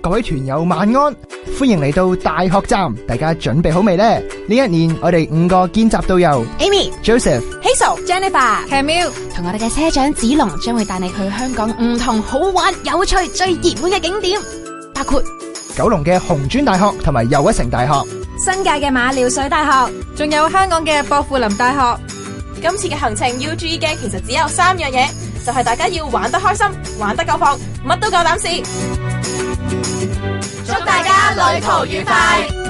各位團友晚安，歡迎嚟到大學站，大家準備好未呢？呢一年我哋5個見習導遊 Amy、Joseph、Hazel、Camille 同我哋嘅車長子龍將會帶你去香港唔同好玩、有趣、最熱門嘅景點，包括九龍嘅紅磚大學同埋又一城大學， 新界嘅馬料水大學，仲有香港嘅薄扶林大學。 今次嘅行程要注意嘅其實只有3樣嘢，就係大家要玩得開心、玩得夠放，乜都夠膽試。祝大家旅途愉快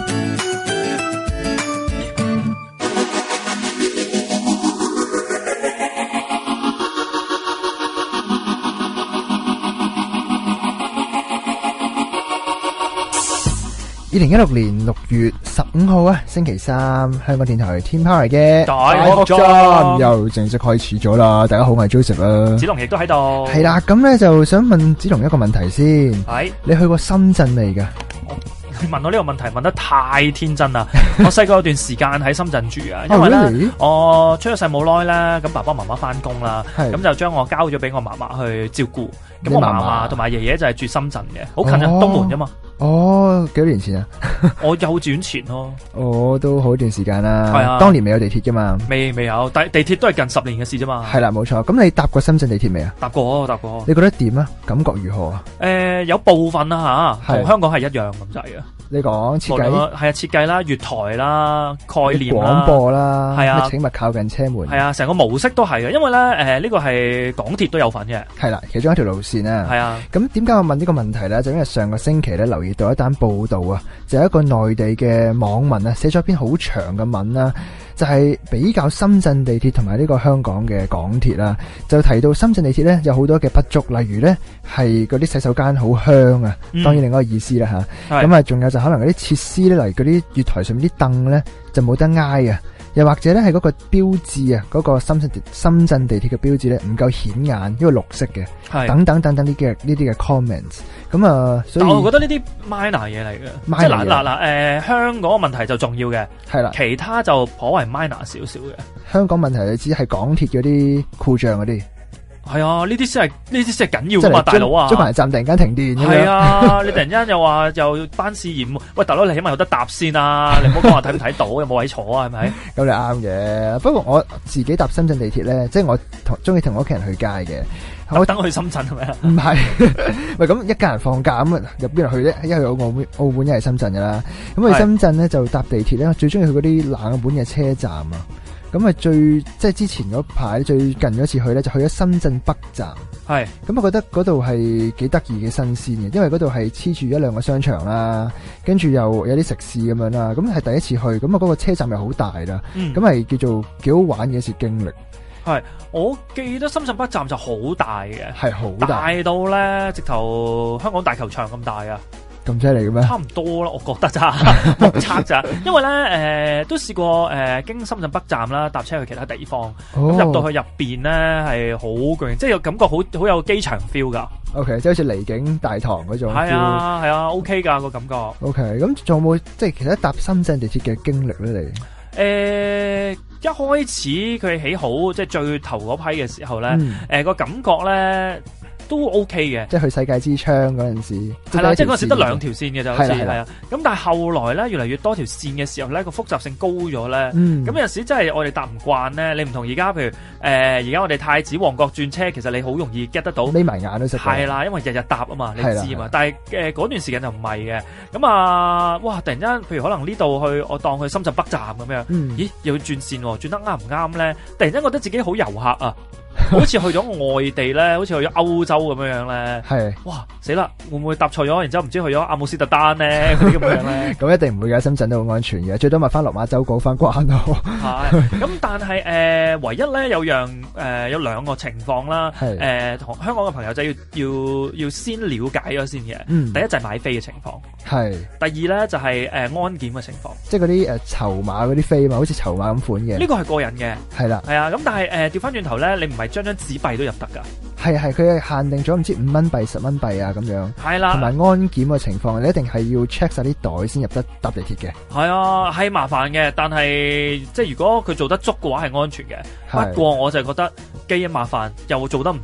！2016年6月15號啊，星期三，香港電台天 power 嘅大學站又正式開始咗啦！大家好，我係 Joseph 啦， 子龍亦都喺度。 係啦，咁咧就想問子龍一個問題先， 係你去過深圳未㗎？ 你問我呢個問題問得太天真啦！我細個有段時間喺深圳住啊，因為咧我出咗世冇耐啦，咁爸爸媽媽翻工啦，咁就將我交咗俾我嫲嫲去照顧。咁我嫲嫲同埋爺爺就係住深圳嘅，好近啊，東門啫嘛。 哦，幾多年前啊？ 我幼稚園前咯。 我都好一段時間啦。 係啊， 當年未有地鐵噶嘛？ 未有，地鐵都係近10年嘅事啫嘛。 係啦，冇錯。咁你搭過深圳地鐵未啊？ 搭過。 你覺得點啊？感覺如何啊？ 有部分啦吓，同香港係一樣咁滯嘅。 你講設計係啊，設計啦、月台啦、概念啦、 廣播啦， 係啊， 請勿靠近車門， 係啊，成個模式都係嘅。因為咧，呢個係港鐵都有份嘅， 係啦，其中一條路線啊。 係啊。 咁點解我問呢個問題咧？就因為上個星期咧留意到一單報道啊，就係一個內地嘅網民啊，寫咗一篇好長嘅文啦，就係比較深圳地鐵同埋呢個香港嘅港鐵啦，就提到深圳地鐵咧有好多嘅不足，例如咧係嗰啲洗手間好香啊，當然另外一個意思啦吓。咁啊，仲有就可能嗰啲設施咧，例如嗰啲月台上面啲凳咧就冇得挨啊，又或者咧係嗰個標誌啊，嗰個深圳地鐵嘅標誌咧唔夠顯眼，因為綠色嘅，等等呢啲嘅 comments。咁啊，所以但我覺得呢啲 minor 嘢嚟嘅，即係嗱，香港嘅問題就重要嘅， 係啦， 其他就頗為 minor 少少嘅。 香港問題你只係港鐵嗰啲故障嗰啲。 係啊，呢啲先係緊要噶嘛，大佬啊！ 中環站突然間停電， 係啊，你突然間又話又班試驗，喂，大佬你起碼有得搭先啊！你唔好講話睇唔睇到，有冇位坐啊？係咪？ 咁你啱嘅。不過我自己搭深圳地鐵咧，即係我中意同我屋企人去街嘅。 我等我去深圳係咪啊？ 唔係，喂，咁一家人放假咁入邊去咧？一去澳門，一係深圳噶啦。咁去深圳咧就搭地鐵咧，我最中意去嗰啲冷門嘅車站啊。咁啊即係之前嗰排最近嗰次去咧，就去咗深圳北站。係，咁我覺得嗰度係幾得意嘅新鮮嘅，因為嗰度係黐住1-2個商場啦，跟住又有啲食肆咁樣啦。咁係第一次去，咁啊嗰個車站又好大啦，咁係叫做幾好玩嘅一次經歷。 係，我記得深圳北站就好大嘅， 係好大到咧直頭香港大球場咁大啊！ 咁犀利嘅咩？ 差唔多啦，我覺得咋，目測咋。因為咧，都試過經深圳北站啦，搭車去其他地方，咁入到去入邊咧係好巨，即係有感覺好有機場 feel 噶。OK， 即係好似離境大堂嗰種 feel。係啊 ，OK 噶個感覺。OK， 咁仲有冇即係其他搭深圳地鐵嘅經歷咧？你？一開始佢起好即係最頭嗰批嘅時候咧，個感覺咧都 OK 嘅，即係去世界之窗嗰陣時，係啦，即係嗰陣時得2條線嘅就好似係啊。咁但係後來咧，越嚟越多條線嘅時候咧，個複雜性高咗咧。咁有陣時真係我哋搭唔慣咧，你唔同而家，譬如而家我哋太子旺角轉車，其實你好容易 get 得到，眯埋眼都識。係啦，因為日日搭啊嘛，你知嘛。但係嗰段時間就唔係嘅。咁啊，哇！突然間，譬如可能呢度去，我當去深圳北站咁樣，咦？又要轉線喎，轉得啱唔啱咧？突然間覺得自己好遊客啊！好似去咗外地咧，好似去咗歐洲咁樣咧。係，哇死啦！會唔會搭錯咗？然之後唔知去咗阿姆斯特丹咧，嗰啲咁樣咧。咁一定唔會嘅，深圳都好安全嘅，最多咪翻落馬洲過翻關咯。係，咁但係唯一咧有兩個情況啦。係，同香港嘅朋友仔要先了解咗先嘅。第一就係買飛嘅情況。係。第二咧就係安檢嘅情況。即係嗰啲籌碼嗰啲飛嘛，好似籌碼咁款嘅。呢個係個人嘅。係啦。係啊，咁但係調翻轉頭咧，你唔係張紙幣都入得噶。係，佢係限定咗唔知5蚊幣、10蚊幣啊咁樣。係啦。同埋安檢嘅情況，你一定係要 check 晒啲袋先入得搭地鐵嘅。係啊，係麻煩嘅，但係即係如果佢做得足嘅話係安全嘅。不過我就覺得既麻煩又做得唔足。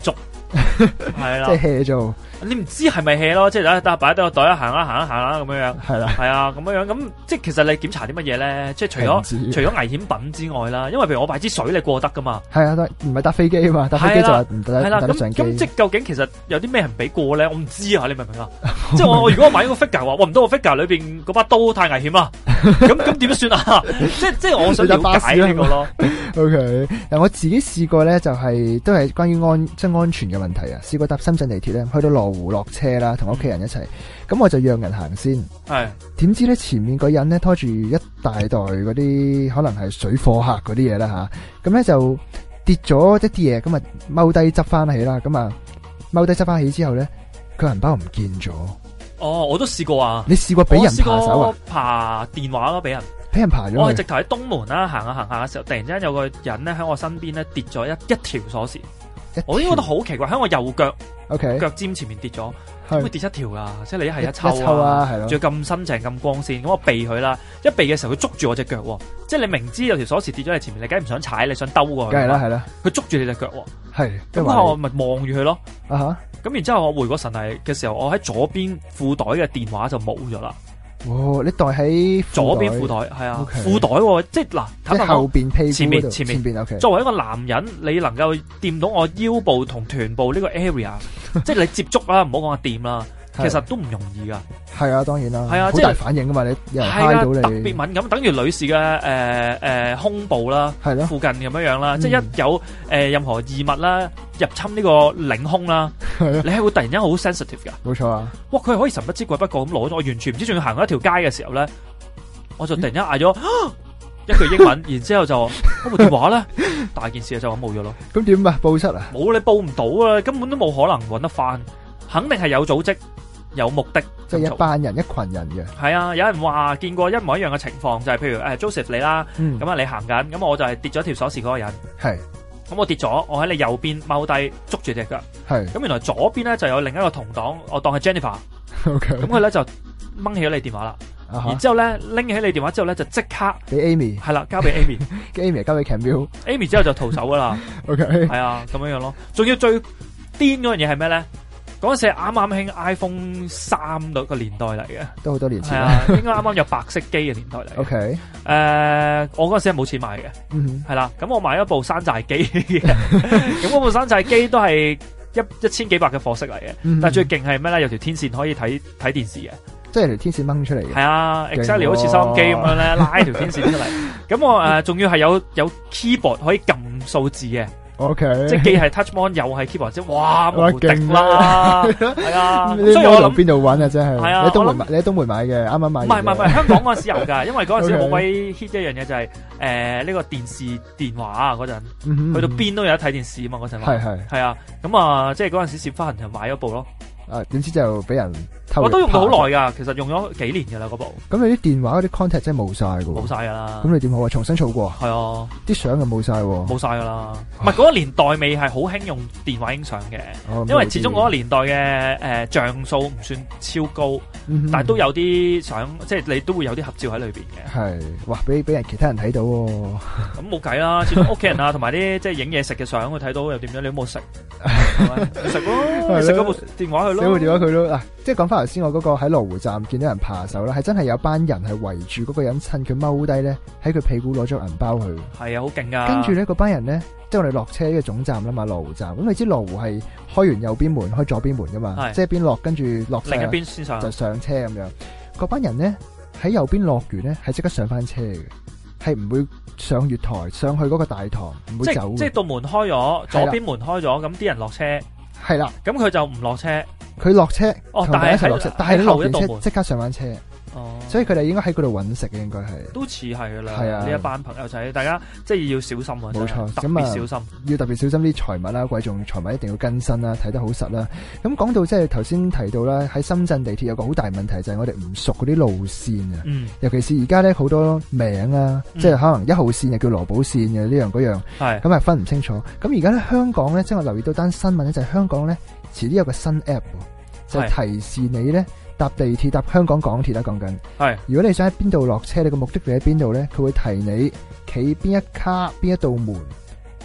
係啦， 即係 hea 做， 你唔知係咪 hea 咯，即係擺低個袋行啦咁樣樣， 係啦， 係啊咁樣樣，咁即係其實你檢查啲乜嘢咧？即係除咗危險品之外啦，因為譬如我買支水你過得噶嘛， 係啊，唔係搭飛機啊嘛，搭飛機就話唔得， 係啦，咁即係究竟其實有啲咩係唔俾過咧？我唔知啊，你明唔明啊？即係我如果我買一個 figure 話，唔到個 figure 裏邊嗰把刀太危險啦，咁點算啊？即係我想了解呢個咯。 OK， 嗱我自己試過咧，就係都係關於安全嘅問題啊。試過搭深圳地鐵咧，去到羅湖落車啦，同屋企人一齊，咁我就讓人行先。 係點知咧前面個人咧拖住一大袋嗰啲可能係水貨客嗰啲嘢啦吓，咁咧就跌咗一啲嘢，咁啊踎低執翻起啦，咁啊踎低執翻起之後咧，佢銀包唔見咗。 哦，我都試過啊！ 你試過俾人扒手啊？ 爬電話咯，俾人扒咗。 我係直頭喺東門啦，行下嘅時候，突然之間有個人咧喺我身邊咧跌咗一條鎖匙。我應該覺得好奇怪，喺我右腳腳尖前面跌咗，點會跌一條噶？即係你一係一抽啊，係咯，仲要咁新淨咁光鮮，咁我避佢啦。一避嘅時候，佢捉住我隻腳，即係你明知有條鎖匙跌咗喺前面，你梗係唔想踩，你想兜過去。梗係啦，係啦。佢捉住你隻腳， 係咁我咪望住佢咯。 咁然之後我回過神嚟嘅時候，我喺左邊褲袋嘅電話就冇咗啦。 哦，你袋喺左邊褲袋，係啊，褲袋即係嗱， 即係後邊屁股前面。 Okay. 作為一個男人，你能夠掂到我腰部同臀部呢個 area， 即係你接觸啦，唔好講話掂啦。其實都唔容易噶， 係啊，當然啦， 係啊， 好大反應噶嘛，你有人揩到你， 特別敏感，等於女士嘅胸部啦，係咯，附近咁樣樣啦，即係一有任何異物啦入侵呢個領胸啦，你係會突然間好 sensitive 噶， 冇錯啊，哇， 佢係可以神不知鬼不覺咁攞咗，我完全唔知，仲要行過一條街嘅時候咧，我就突然間嗌咗一句英文，然之後就嗰部電話咧，大件事就咁冇咗咯。咁點啊？報失啊？ 冇，你報唔到啊，根本都冇可能揾得翻，肯定係有組織。有目的， 即係一班人、一群人嘅。 係啊，有人話見過一模一樣嘅情況，就係譬如Joseph 你啦，咁啊你行緊，咁我就係跌咗條鎖匙嗰個人。係，咁我跌咗，我喺你右邊踎低捉住隻腳。係，咁原來左邊咧就有另一個同黨，我當係 Jennifer。OK，咁佢咧就掹起咗你電話啦。然之後咧拎起你電話之後咧就即刻俾 Amy。 係啦，交俾 Amy。Amy 交俾 Camille。Amy 之後就逃走噶啦。OK，係啊，咁樣樣咯。仲要最癲嗰樣嘢係咩咧？嗰陣時係啱啱興 iPhone 3個年代嚟嘅，都好多年前。係啊，應該啱啱有白色機嘅年代嚟。OK，我嗰陣時係冇錢買嘅，係啦。咁我買咗部山寨機嘅，咁嗰部山寨機都係一千幾百嘅貨色嚟嘅。但係最勁係咩咧？有條天線可以睇電視嘅，即係條天線掹出嚟嘅。係啊 ，exactly 好似收音機咁樣咧，拉條天線出嚟。咁我仲要係有 keyboard 可以撳數字嘅。OK， 即係既係 touch mon 又係 keyboard，即係哇無敵啦，係啊！所以我諗邊度揾啊，真係。係啊，你喺東門買嘅，啱啱買。唔係，香港嗰陣時有噶，因為嗰陣時好鬼 hit 一樣嘢就係呢個電視電話啊嗰陣，去到邊都有得睇電視啊嘛嗰陣。係啊，咁啊即係嗰陣時攝翻人就買咗部咯。點知就俾人偷。我都用到好耐噶，其實用咗幾年噶啦嗰部。咁你啲電話嗰啲 contact 真係冇晒噶。冇晒噶啦。咁你點好啊？重新儲過。係啊。啲相又冇晒。冇晒噶啦。唔係嗰個年代未係好興用電話影相嘅，因為始終嗰個年代嘅像素唔算超高，但係都有啲相，即係你都會有啲合照喺裏邊嘅。係。哇！俾人其他人睇到。咁冇計啦，始終屋企人啊，同埋啲即係影嘢食嘅相，佢睇到又點樣？你都冇食。食咯，食嗰部電話去咯。部電話佢咯。嗱，即係講翻頭先，我嗰個喺羅湖站見到人扒手啦，係真係有班人係圍住嗰個人，趁佢踎低咧，喺佢屁股攞咗銀包去。係啊，好勁噶！跟住咧，嗰班人咧，即係我哋落車呢個總站啦嘛，羅湖站。咁你知羅湖係開完右邊門，開左邊門噶嘛？即係邊落，跟住落另一邊先上，就上車咁樣。嗰班人咧喺右邊落完咧，係即刻上翻車嘅，係唔會上月台上去嗰個大堂，唔會走。即係道門開咗，左邊門開咗，咁啲人落車。係啦，咁佢就唔落車，佢落車，同佢一齊落車，但係你落完車即刻上翻車，所以佢哋應該喺嗰度揾食嘅，應該係都似係噶啦，係啊，呢一班朋友仔，大家即係要小心啊，冇錯，特別小心，要特別小心啲財物啦，貴重財物一定要更新啦，睇得好實啦。咁講到即係頭先提到啦，喺深圳地鐵有個好大問題就係我哋唔熟嗰啲路線啊，尤其是而家咧好多名啊，即係可能1號線又叫羅寶線嘅呢樣嗰樣，係咁係分唔清楚。咁而家咧香港咧，即係我留意到單新聞咧，就係香港咧遲啲有個新 app，就提示你咧。搭地鐵搭香港港鐵啦，講緊係。如果你想喺邊度落車，你個目的地喺邊度咧，佢會提你企邊一卡邊一道門，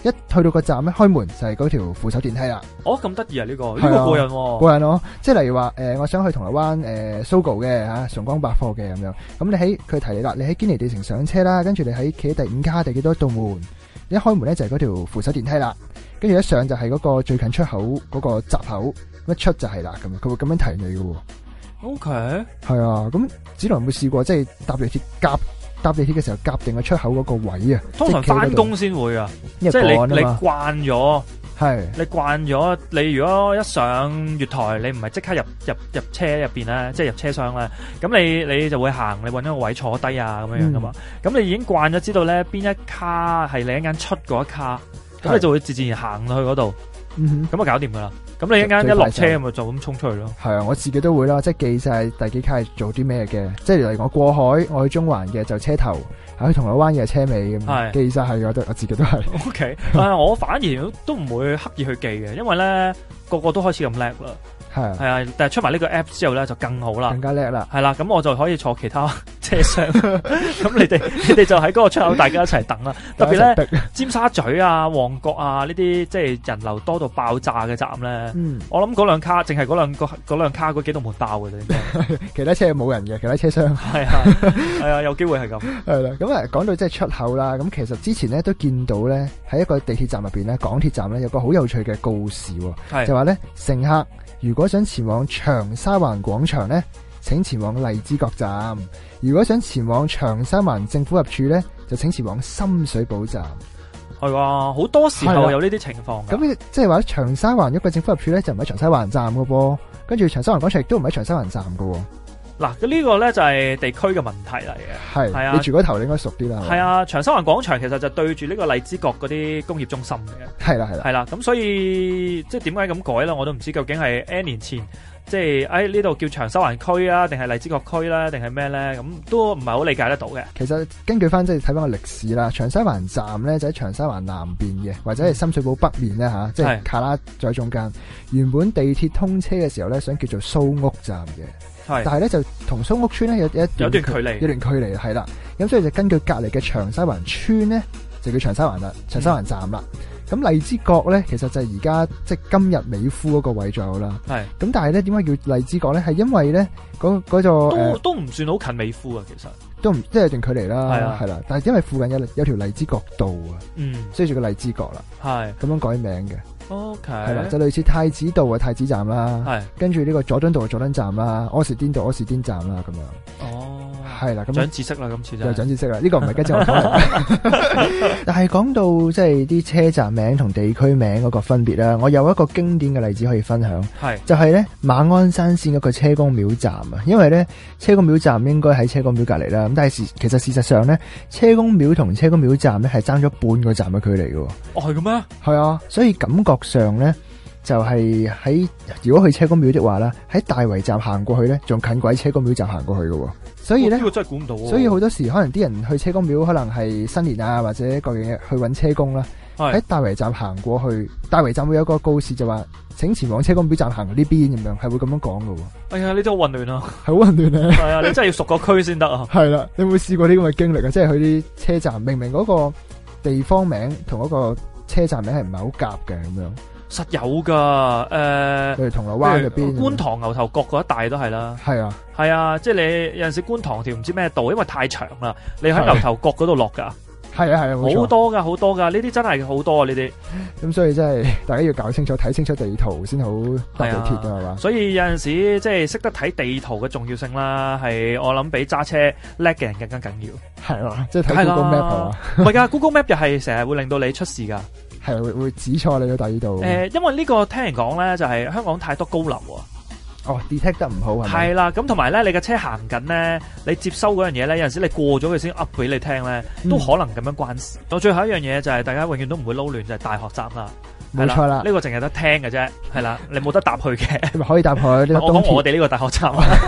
一去到個站咧，開門就係嗰條扶手電梯啦。 哦，咁得意啊！呢個係啊過癮喎。 過癮咯，即係例如話我想去銅鑼灣Sogo 嘅嚇崇光百貨嘅咁樣，咁你喺佢提你啦，你喺堅尼地城上車啦，跟住你喺企喺第5卡第幾多道門，一開門咧就係嗰條扶手電梯啦，跟住一上就係嗰個最近出口嗰個閘口，一出就係啦咁樣，佢會咁樣提你嘅喎。 OK， 係啊，咁子龍有冇試過即係搭地鐵嘅時候夾定個出口嗰個位啊？ 通常翻工先會啊，即係你慣咗。係，你慣咗，你如果一上月台，你唔係即刻入車入邊咧，即係入車廂咧，咁你就會行，你搵一個位坐低啊，咁樣噶嘛。咁你已經慣咗，知道咧邊一卡係你一間出嗰一卡，咁你就會自然行去嗰度，咁啊搞掂噶啦。咁你一間一落車咪就咁衝出去咯。係啊，我自己都會啦，即係記晒第幾卡係做啲咩嘅，即係例如我過海，我去中環嘅就車頭。喺銅鑼灣嘅車尾咁，記晒係我自己都係。OK， 我反而都唔會刻意去記嘅，因為咧個個都開始咁叻啦。係啊，但係出埋呢個 app 之後咧就更好啦，更加叻啦。係啦，咁我就可以坐其他車廂。咁你哋就喺嗰個出口，大家一齊等啦。特別咧，尖沙咀啊、旺角啊呢啲即係人流多到爆炸嘅站咧，我諗嗰兩卡淨係嗰兩卡嗰幾度門爆嘅啫。其他車冇人嘅，其他車廂係啊，有機會係咁。係啦，咁啊講到即係出口啦，咁其實之前咧都見到咧喺一個地鐵站入邊咧，港鐵站咧有個好有趣嘅告示，就話咧乘客如果想前往長沙灣廣場咧，請前往荔枝角站；如果想前往長沙灣政府合署咧，就請前往深水埗站。係啊，好多時候有呢啲情況。咁即係話長沙灣一個政府合署咧，就唔喺長沙灣站噶噃，跟住長沙灣廣場亦都唔喺長沙灣站噶。嗱，呢個咧就係地區嘅問題嚟嘅。係啊，你住嗰頭你應該熟啲啦。係啊，長沙灣廣場其實就對住呢個荔枝角嗰啲工業中心嘅。係啦，咁所以即係點解咁改咧？我都唔知究竟係 N 年前即係喺呢度叫長沙灣區啊，定係荔枝角區啦，定係咩咧？咁都唔係好理解得到嘅。其實根據翻即係睇翻個歷史啦，長沙灣站咧就喺長沙灣南邊嘅，或者係深水埗北面咧吓，即係卡拉在中間。原本地鐵通車嘅時候咧，想叫做蘇屋站嘅。但係咧就同蘇屋村咧有一段距離係啦，咁所以就根據隔離嘅長沙灣村咧就叫長沙灣啦，長沙灣站啦。咁荔枝角咧其實就係而家即係今日美孚嗰個位左右啦。咁但係咧點解叫荔枝角咧？係因為咧嗰座都唔算好近美孚啊，其實都唔即係有段距離啦，係啦。但係因為附近有條荔枝角道啊，所以叫荔枝角啦，係咁樣改名嘅。OK， 係啦，就類似太子道嘅太子站啦，係跟住呢個佐敦道嘅佐敦站啦，柯士甸道柯士甸站啦，咁樣。哦，係啦，咁長知識啦，今次就長知識啦。呢個唔係跟住我講，但係講到即係啲車站名同地區名嗰個分別啦，我有一個經典嘅例子可以分享，係就係咧馬鞍山線嗰個車公廟站啊，因為咧車公廟站應該喺車公廟隔籬啦，咁但係其實事實上咧車公廟同車公廟站咧係爭咗半個站嘅距離嘅。哦，係咁咩？係啊，所以感覺上咧就係喺如果去車公廟的話啦，喺大圍站行過去咧，仲近過喺車公廟站行過去嘅。所以咧，呢個真係估唔到。所以好多時可能啲人去車公廟，可能係新年啊或者各樣嘢去搵車公啦。喺大圍站行過去，大圍站會有個告示就話，請前往車公廟站行呢邊咁樣，係會咁樣講嘅。哎呀，呢啲好混亂啊，係好混亂啊。係啊，你真係要熟個區先得啊。係啦，你有冇試過呢咁嘅經歷啊？即係去啲車站，明明嗰個地方名同嗰個車站名係唔係好夾嘅咁樣。實有噶，譬如銅鑼灣入邊，觀塘牛頭角嗰一帶都係啦。係啊，係啊，即係你有陣時觀塘條唔知咩道，因為太長啦，你喺牛頭角嗰度落噶。係啊係啊，好多噶好多噶，呢啲真係好多啊呢啲。咁所以真係大家要搞清楚，睇清楚地圖先好搭地鐵噶係嘛。所以有陣時即係識得睇地圖嘅重要性啦，係我諗比揸車叻嘅人更加緊要。係嘛，即係睇 Google Map 係嘛。唔係噶，Google Map 又係成日會令到你出事噶。係會指錯你去第二度。因為呢個聽人講咧，就係香港太多高樓啊。哦 ，detect 得唔好係咪？係啦，咁同埋咧，你嘅車行緊咧，你接收嗰樣嘢咧，有陣時你過咗佢先 up 俾你聽咧，都可能咁樣關事。到最後一樣嘢就係大家永遠都唔會撈亂，就係大學站啦。冇錯啦，呢個淨係得聽嘅啫，係啦，你冇得搭去嘅。你咪可以搭去。我講我哋呢個大學站。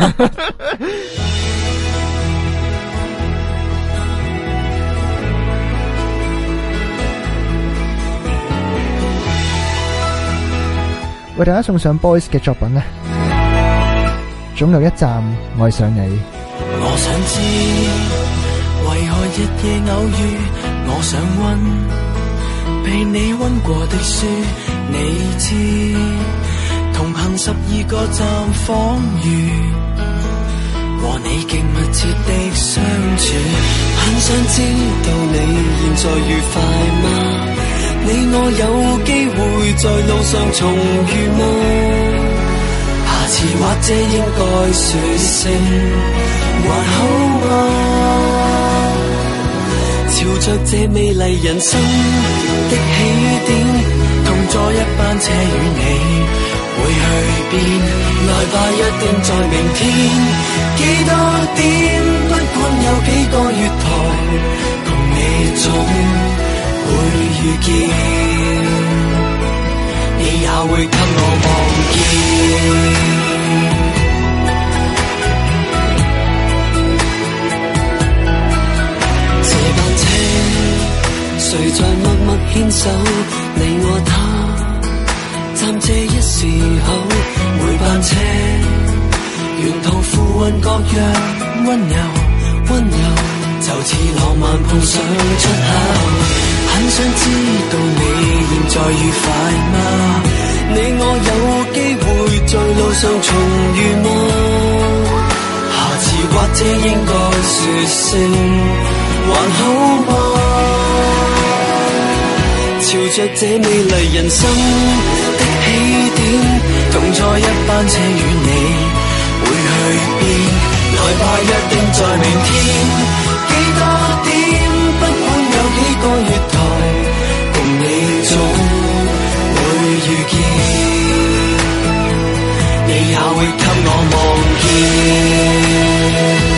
為大家送上 Boys 嘅作品呢，總有一站愛上你。我想知為何日夜偶遇，我想問被你溫過的書，你知同行12個站訪遇，和你極密切的相處，很想知道你現在愉快嗎？你我有機會在路上重遇嗎？下次或者應該說聲還好嗎？朝着這美麗人生的起點，同坐一班車與你會去邊？來吧，約定在明天幾多點？不管有幾個月台，共你總會遇見，你也會給我望見。誰在默默牽手，你我他，暫借一時候。每班車沿途附運各樣溫柔，溫柔就似浪漫碰上出口。很想知道你現在愉快嗎？你我有機會在路上重遇嗎？下次或者應該說聲還好嗎？朝着這美麗人生的起點，同坐一班車與你會去邊？來吧，約定在明天幾多點？不管有幾個月台，共你總會遇見，你也會給我望見。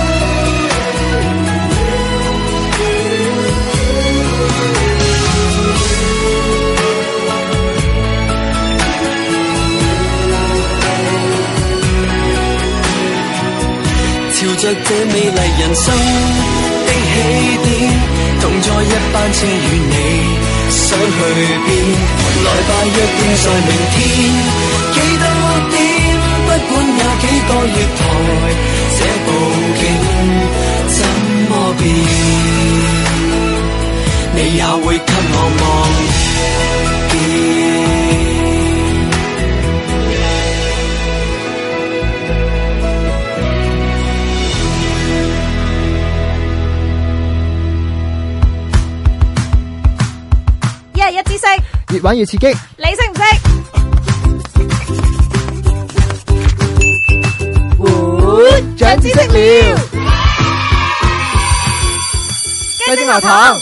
朝着這美麗人生的起點，同坐一班車與你想去邊？來吧，約定在明天幾多點？不管有幾個月台，這部景怎麼變？你也會給我望見。 一知識， 越玩越刺激， 你識唔識？ 長知識了，雞精學堂。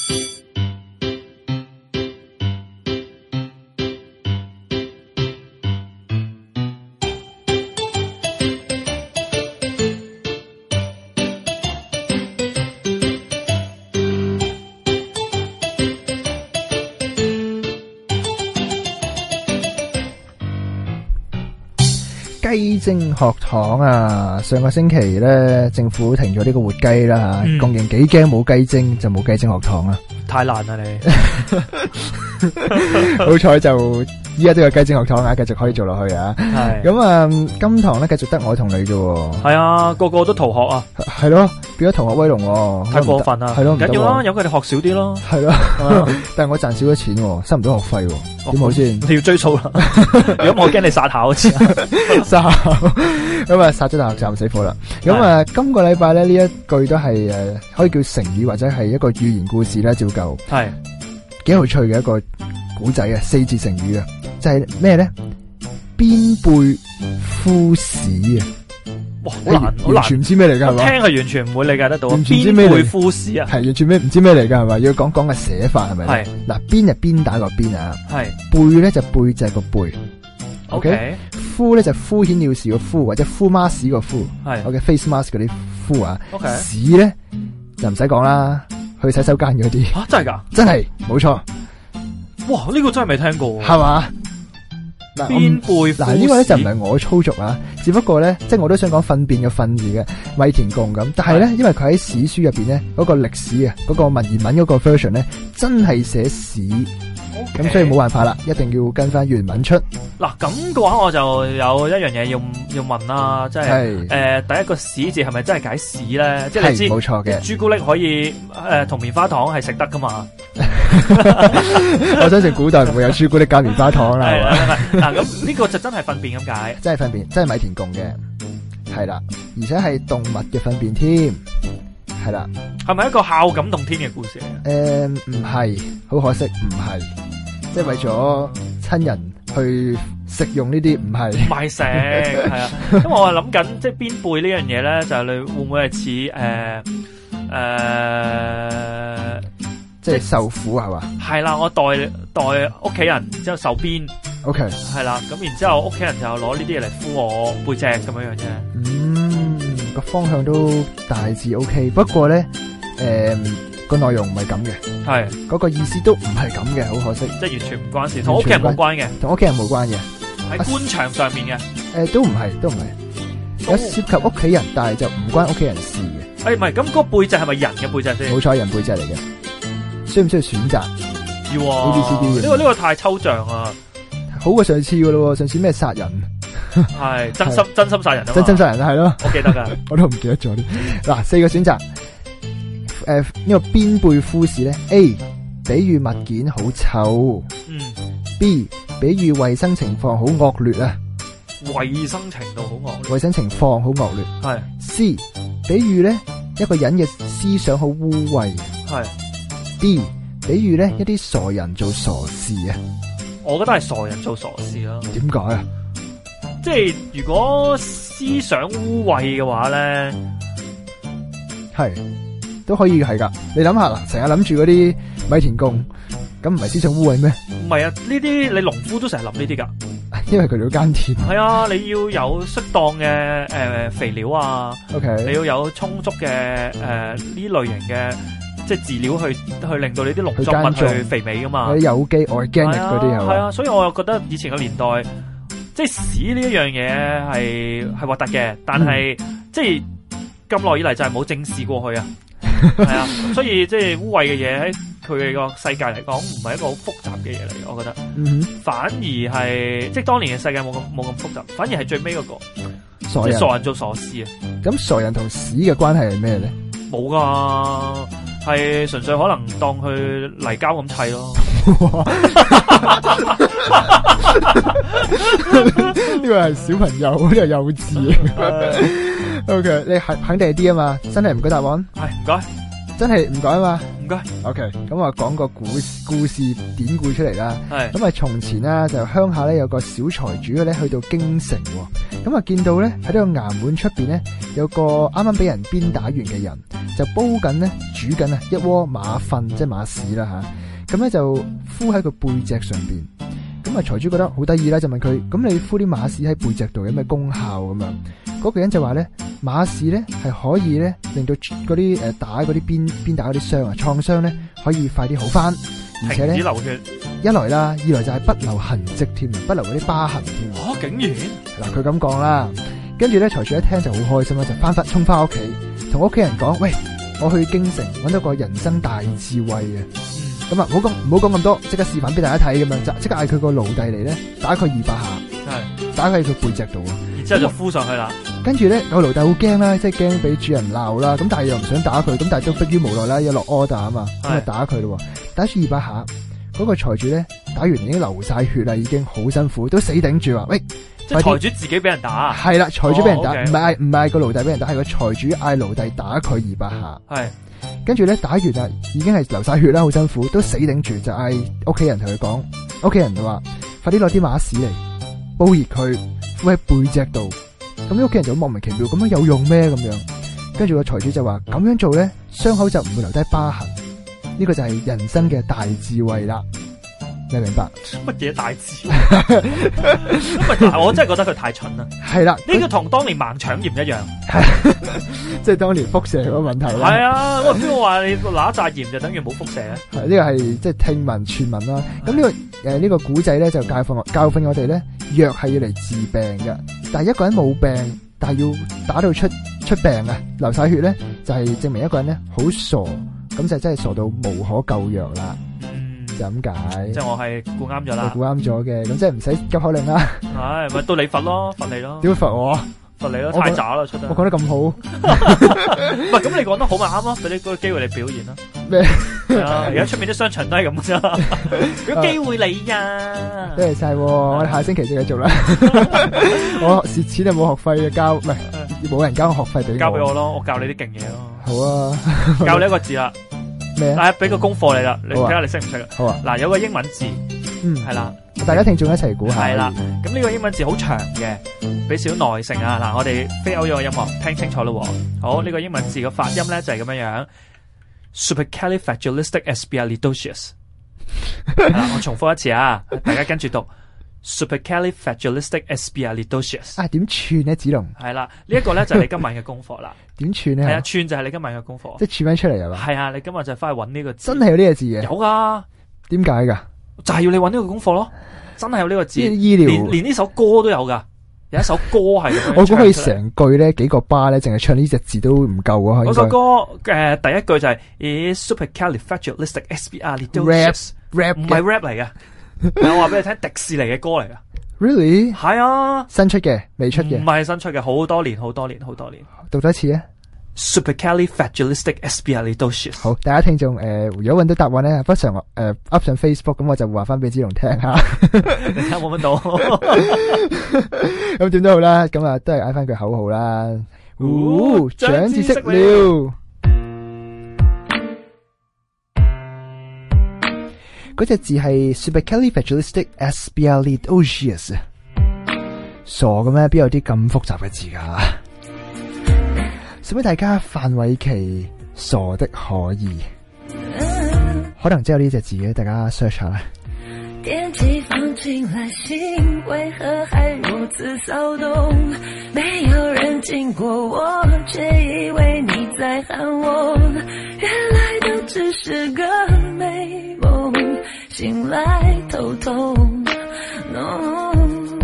雞精學堂啊！上個星期咧，政府停咗呢個活雞啦吓，共贏幾驚冇雞精就冇雞精學堂啊！ 太難啦你， 好彩就依家都有雞精學堂啊，繼續可以做落去啊！係咁啊，今堂咧繼續得我同你啫。係啊，個個都逃學啊！ 係咯，變咗同學威龍，太過分啦！係咯，唔緊要啦，由佢哋學少啲咯。係咯， 但係我賺少咗錢，收唔到學費，點好先？ 你要追數啦！如果我驚你殺校，殺咁啊，殺咗大學站死火啦！咁啊，今個禮拜咧呢一句都係可以叫成語或者係一個寓言故事啦，照舊係幾有趣嘅一個古仔啊，4字成語啊，就係咩咧？邊背夫屎啊！哇，好難，完全唔知咩嚟噶，係嘛？聽係完全唔會理解得到。完全唔知咩嚟？邊背夫屎啊？係完全唔知咩嚟噶，係咪？要講嘅寫法係咪？係嗱，邊就邊打個邊啊，係背咧就背就係個背。OK，敷咧就敷衍了事個敷，或者敷孖屎個敷。係 OK face mask 嗰啲敷啊。OK，屎咧就唔使講啦，去洗手間嗰啲。吓，真係噶？真係，冇錯。哇，呢個真係未聽過，係嘛？邊背嗱呢個咧就唔係我操作啊，只不過咧即係我都想講糞便嘅糞字嘅米田共咁，但係咧因為佢喺史書入邊咧嗰個歷史啊，嗰個文言文嗰個 version 咧真係寫屎，咁所以冇辦法啦，一定要跟翻原文出。嗱咁嘅話，我就有一樣嘢要問啦，即係第一個屎字係咪真係解屎咧？即係你知冇錯嘅，朱古力可以同棉花糖係食得噶嘛？ 我相信古代唔會有朱古力加棉花糖啦，係嘛？ 嗱，咁呢個就真係糞便咁解， 真係糞便，真係米田共嘅，係啦，而且係動物嘅糞便添，係啦。 係咪一個孝感動天嘅故事嚟嘅？ 唔係，好可惜，唔係，即係為咗親人去食用呢啲，唔係。 唔係食，係啊，因為我係諗緊，即係鞭背呢樣嘢咧，就係你會唔會係似即係受苦係嘛？ 係啦，我代屋企人，然之後受鞭。 OK， 係啦，咁然之後屋企人就攞呢啲嘢嚟敷我背脊咁樣樣啫。 個方向都大致 OK， 不過咧，個內容唔係咁嘅， 係嗰個意思都唔係咁嘅，好可惜， 即係完全唔關事，同屋企人冇關嘅， 同屋企人冇關嘅， 喺官場上面嘅， 都唔係，有涉及屋企人，但係就唔關屋企人事嘅。 唔係，咁嗰個背脊係咪人嘅背脊先？ 冇錯，人背脊嚟嘅，需唔需要選擇？ 要啊 ABCD 呢個太抽象啊！ 好過上次噶咯，上次咩殺人？ 係真心殺人啊！ 真心殺人係咯， 我記得噶， 我都唔記得咗啲。嗱，4個選擇，呢個鞭背敷士咧 ，A 比喻物件好臭，B 比喻衛生情況好惡劣啊， 衛生程度好惡劣， 衛生情況好惡劣， 係 C 比喻咧一個人嘅思想好污穢， 係 D 比喻咧一啲傻人做傻事啊， 我覺得係傻人做傻事啦。 點解啊？ 即係如果思想污穢嘅話咧， 係都可以係噶。你諗下啦，成日諗住嗰啲米田共，咁唔係思想污穢咩？ 唔係啊，呢啲你農夫都成日諗呢啲噶。 因為佢哋要耕田。 係啊，你要有適當嘅肥料啊 ，OK， 你要有充足嘅呢類型嘅即係飼料去令到你啲農作物去肥美噶嘛。 嗰啲有機 organic 嗰啲係啊，所以我又覺得以前嘅年代，即係屎呢一樣嘢係核突嘅，但係即係咁耐以嚟就係冇正視過去啊。係啊，所以即係污穢嘅嘢喺佢哋個世界嚟講，唔係一個好複雜嘅嘢嚟，我覺得。反而係即係當年嘅世界冇咁複雜，反而係最尾嗰個即係傻人做傻事啊。 咁傻人同屎嘅關係係咩咧？ 冇噶，係純粹可能當佢泥膠咁砌咯。 呢個係小朋友，呢個幼稚。OK， 你肯定係 D 啊嘛，真係唔該答案。 係唔該， 真係唔該啊嘛。 唔該。 OK，咁我講個故事典故出嚟啦。 係。 咁啊，從前啦，就鄉下咧有個小財主咧去到京城，咁啊見到咧喺呢個衙門出邊咧有個啱啱俾人鞭打完嘅人，就煲緊咧煮緊啊一鍋馬糞，即係馬屎啦吓。咁咧就敷喺個背脊上邊。咁啊財主覺得好得意啦，就問佢：咁你敷啲馬屎喺背脊度有咩功效咁樣？嗰個人就話咧，馬屎咧係可以咧令到嗰啲打嗰啲鞭打嗰啲傷啊創傷咧可以快啲好翻，而且咧停止流血， 一來啦，二來就係不留痕跡添，不留嗰啲疤痕添。 竟然嗱佢咁講啦，跟住咧財主一聽就好開心啦，就衝翻屋企，同屋企人講：喂，我去京城搵到個人生大智慧嘅。咁啊，唔好講咁多，即刻示範俾大家睇咁樣，即刻嗌佢個奴隸嚟咧，打佢200下，係打喺佢背脊度， 然之後就敷上去啦。 跟住咧，個奴隸好驚啦，即係驚俾主人鬧啦，咁但係又唔想打佢，咁但係都迫於無奈啦，要落 order 啊嘛，咁啊打佢咯，打住200下，嗰個財主咧打完已經流晒血啦，已經好辛苦，都死頂住話：喂， 即係財主自己俾人打，係啦，財主俾人打，唔係個奴隸俾人打，係個財主嗌奴隸打佢200下，係。跟住咧打完啦，已經係流晒血啦，好辛苦，都死頂住，就嗌屋企人同佢講，屋企人就話：快啲攞啲馬屎嚟煲熱佢，敷喺背脊度。咁啲屋企人就莫名其妙，咁樣有用咩咁樣？跟住個財主就話：咁樣做咧，傷口就唔會留低疤痕。呢個就係人生嘅大智慧啦。你明白乜嘢大智慧？但係我真係覺得佢太蠢啦。係啦，呢個同當年盲腸炎一樣， 即係當年輻射嗰個問題啦。 係啊，我邊個話你拿一紮鹽就等於冇輻射咧？ 呢個係即係聽聞傳聞啦。咁呢個古仔咧就教訓我哋咧，藥係要嚟治病嘅。但係一個人冇病，但係要打到出病啊，流晒血咧，就係證明一個人咧好傻，咁就真係傻到無可救藥啦。就咁解， 即係我係估啱咗啦， 估啱咗嘅，咁即係唔使急口令啦。 係咪到你罰咯，罰你咯？ 點罰我？ 罰你咯，太渣啦出得。 我講得咁好， 唔係咁你講得好咪啱咯，俾你嗰個機會你表現啦。 咩？ 而家出面啲商場都係咁啫，有機會你呀！ 多謝晒，我哋下星期再繼續啦。我蝕錢就冇學費嘅交，唔係冇人交學費俾我。 交俾我咯，我教你啲勁嘢咯。 好啊， 教你一個字啦。 咩啊？ 俾個功課你啦，你睇下你識唔識啊？ 好啊。 嗱，有個英文字，係啦， 大家聽眾一齊估下。 係啦，咁呢個英文字好長嘅，俾少耐性啊！嗱，我哋飛歐咗個音樂，聽清楚咯。好，呢個英文字嘅發音咧就係咁樣樣 ，supercalifragilisticexpialidocious。我重複一次啊，大家跟住讀 supercalifragilisticexpialidocious。 啊，點串咧，子龍？ 係啦，呢一個咧就係你今晚嘅功課啦。 點串咧？ 係啊，串就係你今晚嘅功課。 即係串翻出嚟係嘛？ 係啊，你今日就翻去揾呢個字。 真係有呢個字嘅？ 有噶。 點解噶？ 就係要你揾呢個功課咯。真係有呢個字。 醫療連呢首歌都有噶。有一首歌係咁樣。 我估可以成句咧幾個巴咧，淨係唱呢隻字都唔夠啊！ 嗰首歌第一句就係 supercalifragilisticexpialidocious。rap 唔係 rap 嚟嘅。我話俾你聽，迪士尼嘅歌嚟噶。 Really？ 係啊， 新出嘅，未出嘅， 唔係新出嘅，好多年。 讀多一次啊 ！supercalifragilisticexpialidocious。 好，大家聽眾如果揾到答案咧，不常up 上 Facebook， 咁我就話翻俾子龍聽下。 你睇下冇揾到。 咁點都好啦，咁啊都係嗌翻句口號啦。長知識了。嗰隻字係 supercalifragilisticexpialidocious。傻嘅咩？邊有啲咁複雜嘅字噶？送俾大家范瑋琪傻的可以，可能真有呢隻字嘅，大家 search 下啦。 電擊放進來信，為何還如此騷動？沒有人經過我，卻以為你在喊我。原來都只是個美夢，醒來頭痛。No。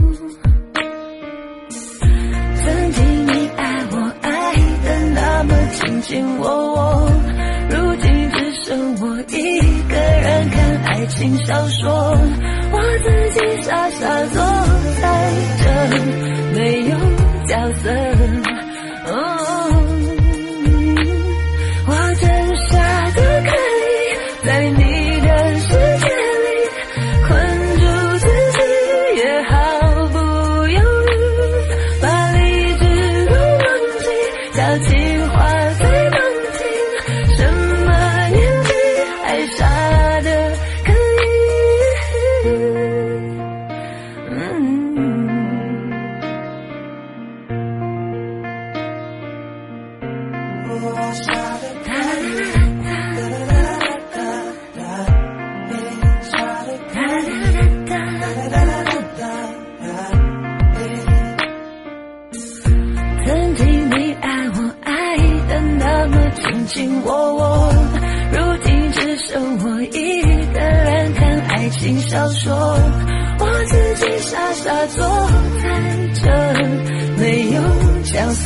曾經你愛我愛得那麼卿卿我我，如今只剩我一個人看愛情小說，我自己傻傻坐在這，沒有角色。我真傻得可以在你的世界裡困住自己，也毫不猶豫把理智都忘記，交情話最動聽，什麼年紀還傻得可以。曾經你愛我愛得那麼卿卿我我，如今只剩我一個人看愛情小說，我自己傻傻坐在這，沒有角色。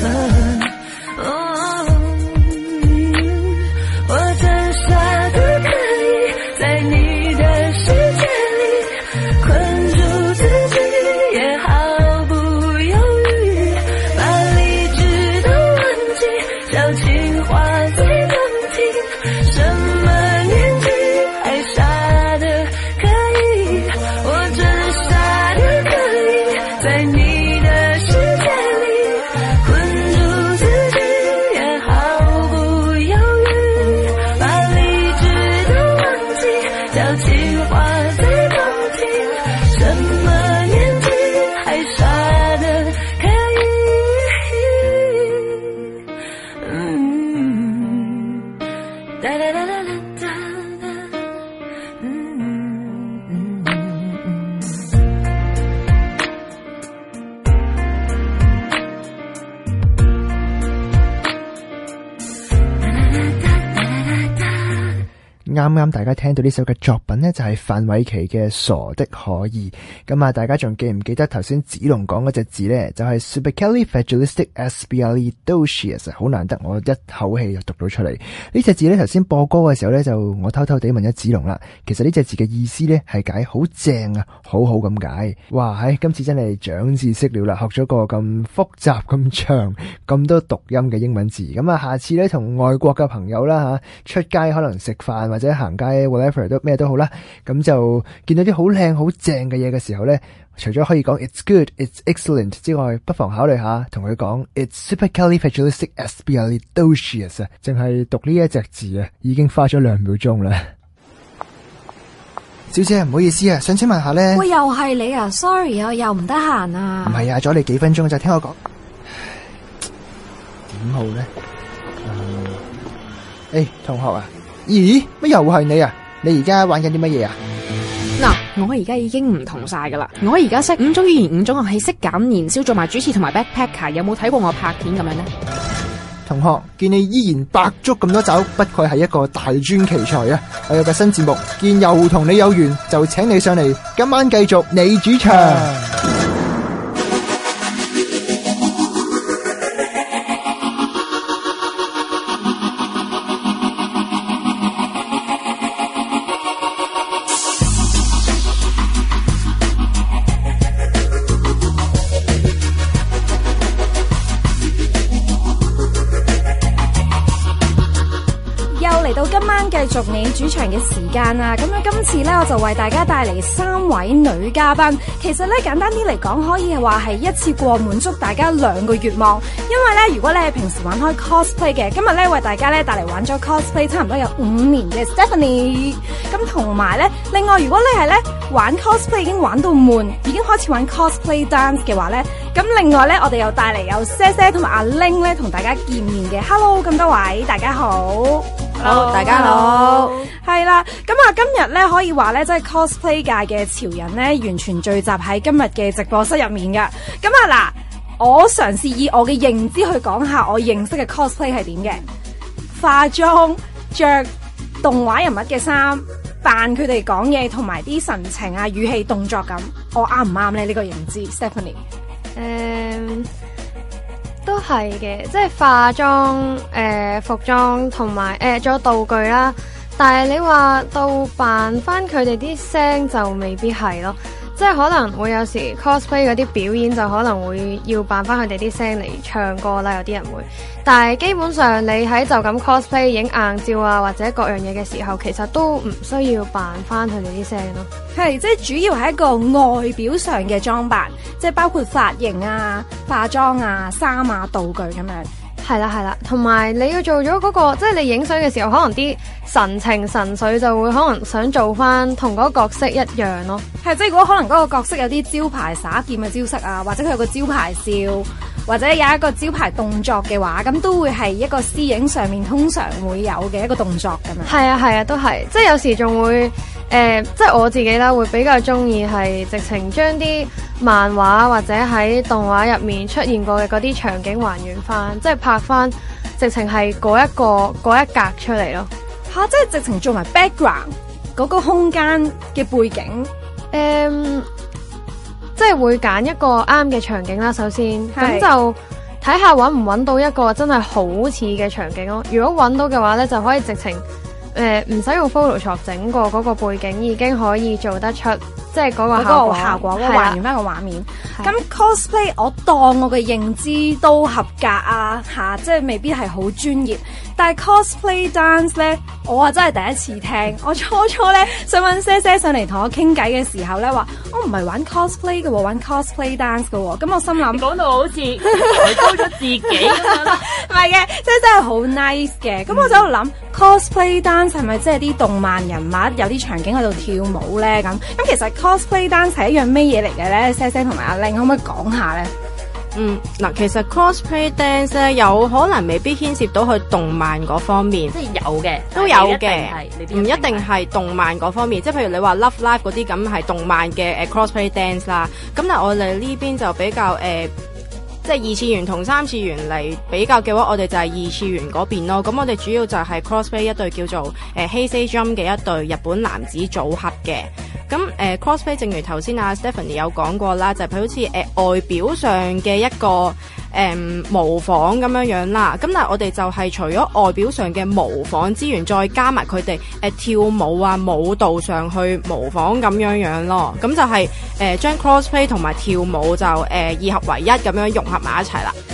我真傻得可以在你的世界裡困住自己，也毫不猶豫把理智都忘記，交情話最動聽，什麼年紀還傻得可以。我真傻得可以在你的世界裡困住自己，也毫不猶豫把理智都忘記，交情話最動聽，什麼年紀還傻得可以。噠噠噠噠噠噠。 啱啱大家聽到呢首嘅作品呢，就係范瑋琪嘅傻的可以。咁啊，大家仲記唔記得頭先子龍講嗰隻字呢？就係 supercalifragilisticexpialidocious， 好難得我一口氣就讀到出嚟。呢隻字呢，頭先播歌嘅時候呢，就我偷偷地問咗子龍啦。其實呢隻字嘅意思呢，係解好正啊，好好咁解。哇，今次真係長知識了啦，學咗個咁複雜、咁長、咁多讀音嘅英文字。咁啊，下次呢，同外國嘅朋友啦出街可能食飯或者者行街 whatever 都咩都好啦，咁就見到啲好靚好正嘅嘢嘅時候咧，除咗可以講 it's good, it's excellent 之外，不妨考慮下同佢講 it's supercalifragilisticexpialidocious 啊，淨係讀呢一隻字啊，已經花咗2秒鐘啦。小姐唔好意思啊，想請問下咧， 喂，又係你啊 ？Sorry 啊，又唔得閒啊。 唔係啊，阻你幾分鐘就聽我講，點好咧？同學啊，咦，乜又係你啊？你而家玩緊啲乜嘢啊？ 嗱，我而家已經唔同晒噶啦，我而家識5種語言、5種樂器，識減燃燒，做埋主持同埋 backpacker， 有冇睇過我拍片咁樣呢？ 同學，見你依然百足咁多爪，不愧係一個大專奇才啊！我有個新節目，見又同你有緣，就請你上嚟，今晚繼續你主場。 嚟到今晚繼續你主場嘅時間啦，咁咧今次咧我就為大家帶嚟3位女嘉賓。其實咧簡單啲嚟講，可以話係一次過滿足大家2個願望。因為咧，如果你係平時玩開 cosplay 嘅，今日咧為大家咧帶嚟玩咗 cosplay 差唔多有5年嘅 Stephanie。咁同埋咧，另外如果你係咧玩 cosplay 已經玩到悶，已經開始玩 cosplay dance 嘅話咧，咁另外咧我哋又帶嚟有些些同埋阿 Ling 咧同大家見面嘅。Hello， 咁多位大家好。 好，大家好。 係啦，咁啊，今日咧可以話咧，即係 cosplay 界嘅潮人咧，完全聚集喺今日嘅直播室入面噶。咁啊嗱，我嘗試以我嘅認知去講下我認識嘅 cosplay 係點嘅。化妝、着動畫人物嘅衫，扮佢哋講嘢，同埋啲神情啊、語氣、動作咁，我啱唔啱咧？呢個認知 ，Stephanie。 都係嘅，即係化妝、服裝同埋仲有道具啦。但係你話到扮翻佢哋啲聲就未必係咯，即係可能會有時 cosplay 嗰啲表演就可能會要扮翻佢哋啲聲嚟唱歌啦，有啲人會。但係基本上你喺就咁 cosplay 影硬照啊或者各樣嘢嘅時候，其實都唔需要扮翻佢哋啲聲咯。 係，即係主要係一個外表上嘅裝扮，即係包括髮型啊、化妝啊、衫啊、道具咁樣。 係啦係啦，同埋你要做咗嗰個，即係你影相嘅時候，可能啲神情神緒就會可能想做翻同嗰個角色一樣咯。 係，即係如果可能嗰個角色有啲招牌耍劍嘅招式啊，或者佢有個招牌笑，或者有一個招牌動作嘅話，咁都會係一個私影上面通常會有嘅一個動作咁樣。 係啊係啊，都係，即係有時仲會即係我自己啦，會比較中意係直情將啲漫畫或者喺動畫入面出現過嘅嗰啲場景還原翻，即係拍翻直情係嗰一格出嚟咯。 吓，即係直情做埋 background 嗰個空間嘅背景。 即係會揀一個啱嘅場景啦，首先咁就睇下搵唔搵到一個真係好似嘅場景咯。如果搵到嘅話呢，就可以直情唔使用 Photoshop 整過嗰個背景，已經可以做得出即係嗰個效果， 還原翻個畫面。咁 cosplay 我當我嘅認知都合格啊，即係未必係好專業。但係 cosplay dance 咧，我真係第一次聽。我初咧想揾些些上嚟同我傾偈嘅時候咧，話我唔係玩 cosplay 嘅，玩 cosplay dance 嘅。咁我心諗講到好似抬高咗自己咁樣啦， 唔係嘅，即係真係好 nice 嘅。咁我就喺度諗 cosplay dance 係咪即係啲動漫人物有啲場景喺度跳舞咧？咁其實 cosplay dance 係一樣咩嘢嚟嘅咧？些些同埋阿玲可唔可以講下咧？ 嗱，其實 cosplay dance 咧有可能未必牽涉到去動漫嗰方面， 即係有嘅， 都有嘅，唔一定係動漫嗰方面。即係譬如你話 Love Live 嗰啲咁係動漫嘅cosplay dance 啦。咁但係我哋呢邊就比較即係2次元同3次元嚟比較嘅話，我哋就係2次元嗰邊咯。咁我哋主要就係 cosplay 一隊叫做Heisei Jump 嘅一隊日本男子組合嘅。咁cosplay 正如頭先阿 Stephanie 有講過啦，就係佢好似外表上嘅一個模仿咁樣樣啦。咁但係我哋就係除咗外表上嘅模仿之餘，再加埋佢哋跳舞啊舞蹈上去模仿咁樣樣咯。咁就係將 cosplay 同埋跳舞就2合為一咁樣融合埋一齊啦。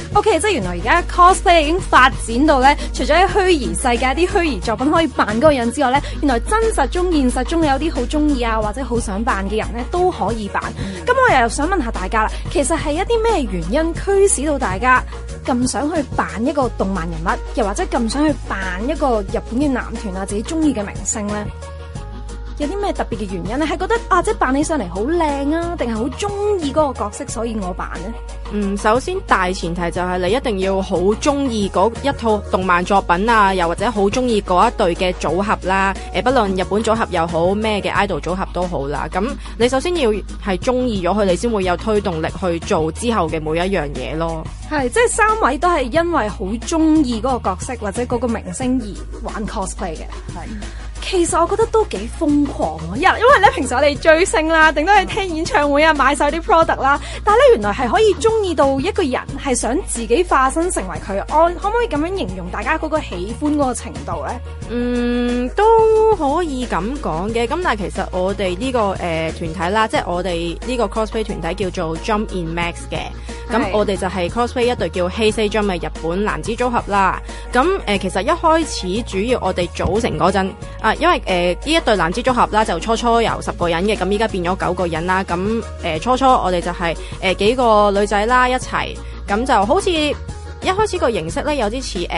OK， 即係原來而家 cosplay 已經發展到咧，除咗喺虛擬世界啲虛擬作品可以扮嗰個人之外咧，原來真實中、現實中有啲好中意啊，或者好想扮嘅人咧都可以扮。咁我又想問下大家啦，其實係一啲咩原因驅使到大家咁想去扮一個動漫人物，又或者咁想去扮一個日本嘅男團啊，自己中意嘅明星咧？有啲咩特別嘅原因咧？係覺得啊，即係扮起上嚟好靚啊，定係好中意嗰個角色，所以我扮呢？ 首先大前提就係你一定要好中意嗰一套動漫作品啊，又或者好中意嗰一隊嘅組合啦。不論日本組合又好，咩嘅 idol 組合都好啦。咁你首先要係中意咗佢，你先會有推動力去做之後嘅每一樣嘢咯。 係，即係三位都係因為好中意嗰個角色或者嗰個明星而玩 cosplay 嘅。係。其實我覺得都幾瘋狂喎，因為咧平時我哋追星啦，頂多係聽演唱會啊，買晒啲 product 啦，但係咧原來係可以中意到一個人係想自己化身成為佢，我可唔可以咁樣形容大家嗰個喜歡嗰個程度咧？ 都可以咁講嘅，咁但係其實我哋呢個團體啦，即係我哋呢個 cosplay 團體叫做 Jump in Max 嘅。咁我哋就係 cosplay 一隊叫 Heisei Jump 嘅日本男子組合啦。咁其實一開始主要我哋組成嗰陣因為呢一隊男子組合啦，就初有10個人嘅，咁依家變咗9個人啦。咁初我哋就係幾個女仔啦一齊，咁就好似一開始個形式咧有啲似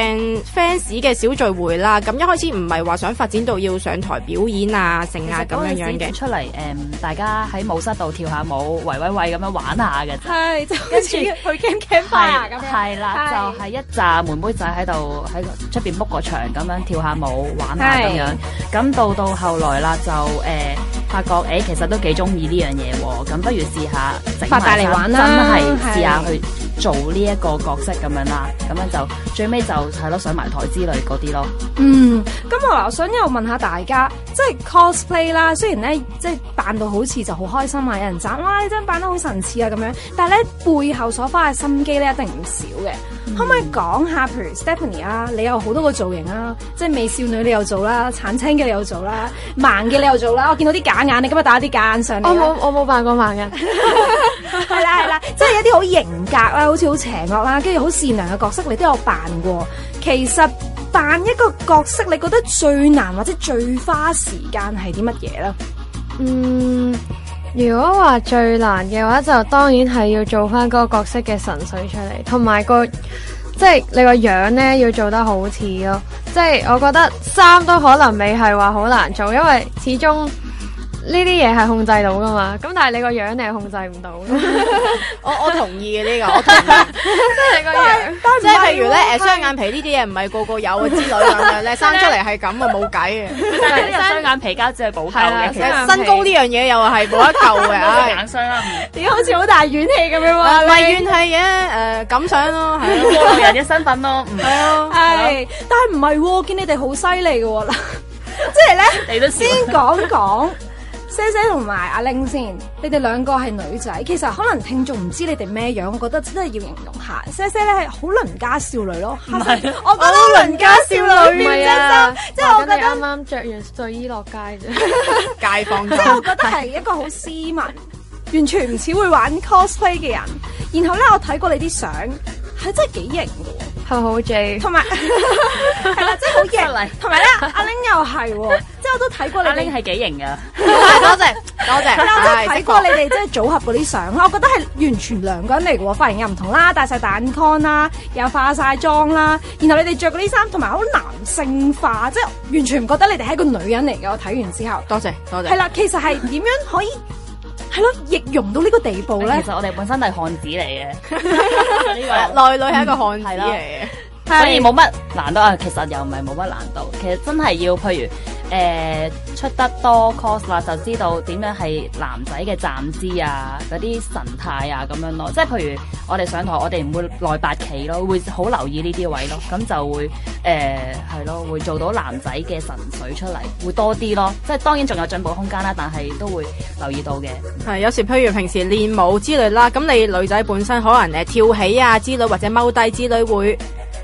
fans 嘅小聚會啦。咁一開始唔係話想發展到要上台表演啊成啊咁樣嘅， 出嚟大家喺舞室度跳下舞，圍咁樣玩下嘅。 係，就跟住去 campfire 咁樣。係啦，就係一紮妹妹仔喺度喺出邊 book 個場咁樣跳下舞玩下咁樣。咁到後來啦，就發覺其實都幾中意呢樣嘢喎。咁不如試下整發大嚟玩啦， 真係試下去做呢一個角色咁樣啦。咁樣就最尾就係咯，上埋台之類嗰啲咯。 咁我想又問下大家，即係 cosplay 啦，雖然咧即係扮到好似就好開心啊，有人讚哇你真係扮得好神似啊咁樣，但係咧背後所花嘅心機咧一定唔少嘅。可唔可以講下，譬如 Stephanie 啊，你有好多個造型啊，即係美少女你又做啦，橙青嘅你又做啦，盲嘅你又做啦，我見到啲假眼，你今日打啲假眼上嚟。 我冇扮過盲嘅。 係啦，即係有啲好型格啦，好似好邪惡啦，跟住好善良嘅角色，你都有扮過。其實扮一個角色，你覺得最難或者最花時間係啲乜嘢咧？ 如果話最難嘅話，就當然係要做翻嗰個角色嘅神髓出嚟，同埋即係你個樣咧要做得好似咯。即係我覺得衫都可能未係話好難做，因為始終呢啲嘢係控制到噶嘛。咁但係你個樣你係控制唔到。 我同意嘅呢個，我同意。 即係你個樣， 即係譬如咧雙眼皮呢啲嘢唔係個個有嘅之類咁樣咧，生出嚟係咁啊冇計嘅。 但係呢個雙眼皮膠只係補救嘅， 其實身高呢樣嘢又係冇得救嘅。 眼霜啦， 點解好似好大怨氣咁樣喎？ 唔係怨氣嘅，感想咯，係咯， 過路人嘅身份咯， 係啊， 係。但係唔係喎，見你哋好犀利嘅喎嗱，即係咧， 你都先講。姐姐同埋阿玲先，你哋兩個係女仔，其實可能聽眾唔知你哋咩樣，我覺得真係要形容下。姐姐咧係好鄰家少女咯，係咪？我覺得鄰家少女， 唔係啊， 即係我覺得啱啱着完睡衣落街啫， 街坊。 即係我覺得係一個好斯文，完全唔似會玩 cosplay 嘅人。然後咧，我睇過你啲相，係真係幾型嘅， 係好 J， 同埋係啦，真係好型。同埋咧，阿玲又係喎。即係我都睇過你哋， 阿玲係幾型噶， 多謝。 我都睇過你哋即係組合嗰啲相啦，我覺得係完全兩個人嚟嘅喎，髮型又唔同啦，戴晒大眼 con 啦，又化晒妝啦，然後你哋着嗰啲衫同埋好男性化，即係完全唔覺得你哋係一個女人嚟嘅。我睇完之後， 多謝。 係啦，其實係點樣可以係咯，易容到呢個地步咧？ 其實我哋本身係漢子嚟嘅， 內裏係一個漢子嚟嘅。 所以冇乜難度啊，其實又唔係冇乜難度，其實真係要譬如出得多 cos 啦，就知道點樣係男仔嘅站姿啊，嗰啲神態啊咁樣咯。即係譬如我哋上台，我哋唔會內八企咯，會好留意呢啲位咯，咁就會係咯，會做到男仔嘅神髓出嚟，會多啲咯。即係當然仲有進步空間啦，但係都會留意到嘅。 係有時譬如平時練舞之類啦，咁你女仔本身可能跳起啊之類或者踎低之類會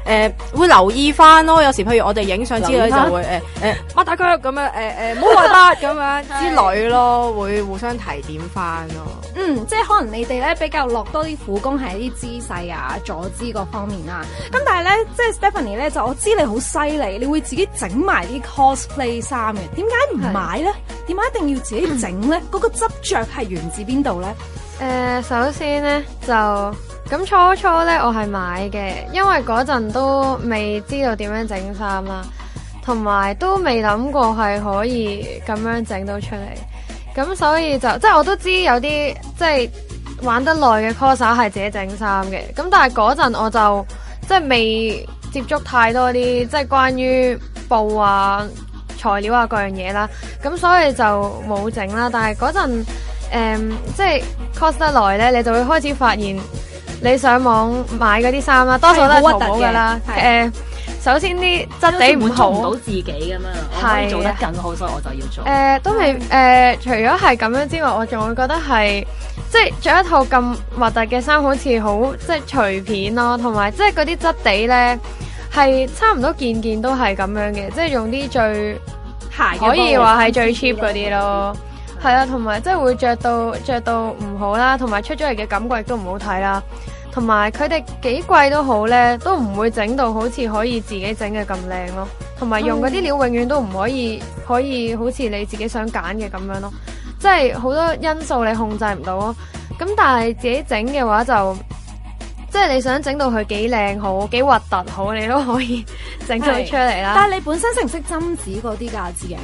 會留意翻咯。有時譬如我哋影相之類就會擘大腳咁樣唔好外八咁樣之類咯，會互相提點翻咯。 即係可能你哋咧比較落多啲苦功係一啲姿勢啊、坐姿嗰方面啦。咁但係咧，即係 Stephanie 咧，就我知你好犀利，你會自己整埋啲 cosplay 衫嘅。點解唔買咧？點解一定要自己整咧？嗰個執着係源自邊度咧？ 首先咧就咁初咧我係買嘅，因為嗰陣都未知道點樣整衫啦，同埋都未諗過係可以咁樣整到出嚟，咁所以就即係我都知有啲即係玩得耐嘅 coser 係自己整衫嘅，咁但係嗰陣我就即係未接觸太多啲即係關於布啊、材料啊各樣嘢啦，咁所以就冇整啦。但係嗰陣即係 cos 得耐咧，你就會開始發現你上網買嗰啲衫啦，多數都係淘寶噶啦。首先啲質地唔好， 滿足唔到自己咁樣，我可以做得更好，所以我就要做。 都未除咗係咁樣之外，我仲會覺得係即係着一套咁核突嘅衫，好似好即係隨便咯，同埋即係嗰啲質地咧係差唔多件件都係咁樣嘅，即係用啲最可以話係最 cheap 嗰啲咯。係啊，同埋即係會着到唔好啦，同埋出咗嚟嘅感覺亦都唔好睇啦。同埋佢哋幾貴都好咧，都唔會整到好似可以自己整嘅咁靚咯。同埋用嗰啲料永遠都唔可以好似你自己想揀嘅咁樣咯。即係好多因素你控制唔到咯。咁但係自己整嘅話就即係你想整到佢幾靚好、幾核突好，你都可以整到出嚟啦。 但係你本身識唔識針紙嗰啲㗎自己？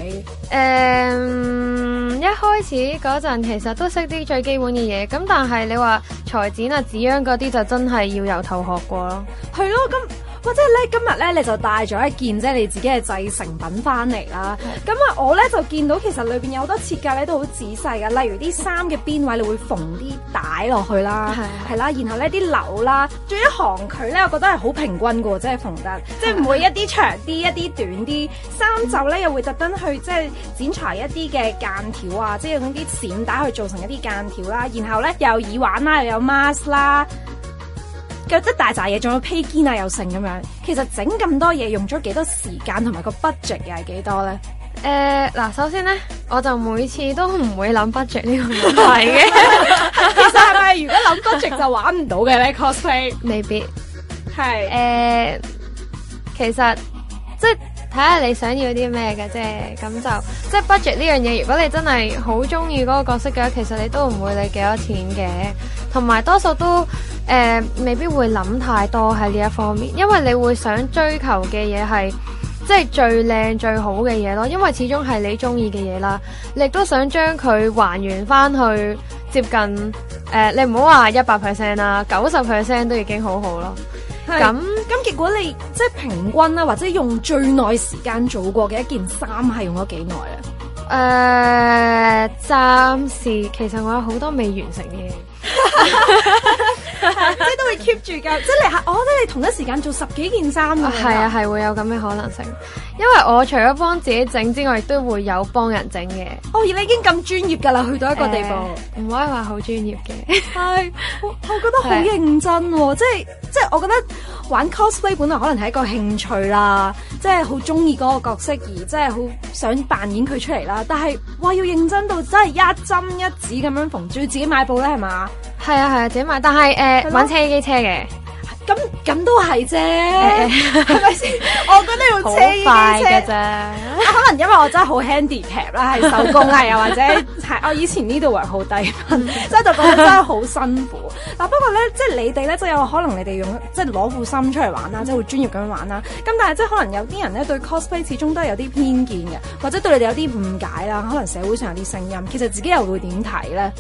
一開始嗰陣其實都識啲最基本嘅嘢，咁但係你話裁剪啊、紙樣嗰啲就真係要由頭學過咯。 係咯，咁或者咧今日咧你就帶咗一件即係你自己嘅製成品翻嚟啦。咁啊我咧就見到其實裏邊有好多設計咧都好仔細㗎，例如啲衫嘅邊位你會縫啲帶落去啦，係啦，然後咧啲紐啦，仲有啲行距咧，我覺得係好平均㗎，即係縫得，即係唔會一啲長啲一啲短啲。衫袖咧又會特登去即係剪裁一啲嘅間條啊，即係用啲閃帶去做成一啲間條啦，然後咧又有耳環啦，又有 mask 啦。有一大扎嘢，仲有披肩啊，又剩咁樣。其實整咁多嘢用咗幾多時間，同埋個 budget 又係幾多咧？ 嗱，首先咧，我就每次都唔會諗 budget 呢個問題嘅。 其實係咪如果諗 budget 就玩唔到嘅咧 cosplay？ 未必係。 其實即係睇下你想要啲咩嘅啫。咁就即係 budget 呢樣嘢，如果你真係好中意嗰個角色嘅話，其實你都唔會理幾多錢嘅。同埋多數都未必會諗太多喺呢一方面，因為你會想追求嘅嘢係即係最靚最好嘅嘢咯，因為始終係你中意嘅嘢啦，你亦都想將佢還原翻去接近你唔好話100%啦，90% 都已經好好咯。咁結果你即係平均啦，或者用最耐時間做過嘅一件衫係用咗幾耐啊？ 暫時其實我有好多未完成嘅嘢。 即係都會 keep 住㗎，即係我覺得你同一時間做10幾件衫㗎。 係啊，係會有咁嘅可能性，因為我除咗幫自己整之外，亦都會有幫人整嘅。 而你已經咁專業㗎啦，去到一個地步， 唔可以話好專業嘅。 係，我覺得好認真喎，即係我覺得玩 cosplay 本來可能係一個興趣啦，即係好中意嗰個角色而即係好想扮演佢出嚟啦。但係哇，要認真到真係一針一指咁樣縫，仲要自己買布咧係嘛？ 係啊，自己買，但係揾車機車嘅， 咁都係啫，係咪先？我覺得用車機車嘅啫， 可能因為我真係好 handicap 啦，係手工啊，又或者係我以前呢度位好低分，所以就覺得真係好辛苦。嗱，不過咧，即係你哋咧，即係有可能你哋用即係攞副心出嚟玩啦，即係會專業咁樣玩啦。咁但係即係可能有啲人咧對 cosplay 始終都係有啲偏見嘅，或者對你哋有啲誤解啦。可能社會上有啲聲音，其實自己又會點睇咧？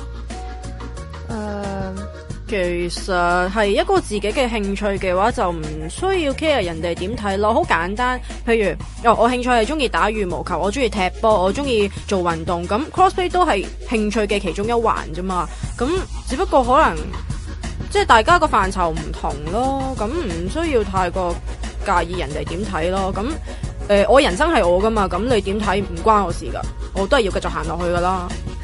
其實係一個自己嘅興趣嘅話，就唔需要 care 人哋點睇咯。好簡單，譬如我興趣係中意打羽毛球，我中意踢波，我中意做運動，咁 cosplay 都係興趣嘅其中一環啫嘛。咁只不過可能即係大家個範疇唔同咯，咁唔需要太過介意人哋點睇咯。咁我人生係我噶嘛，咁你點睇唔關我事噶，我都係要繼續行落去噶啦。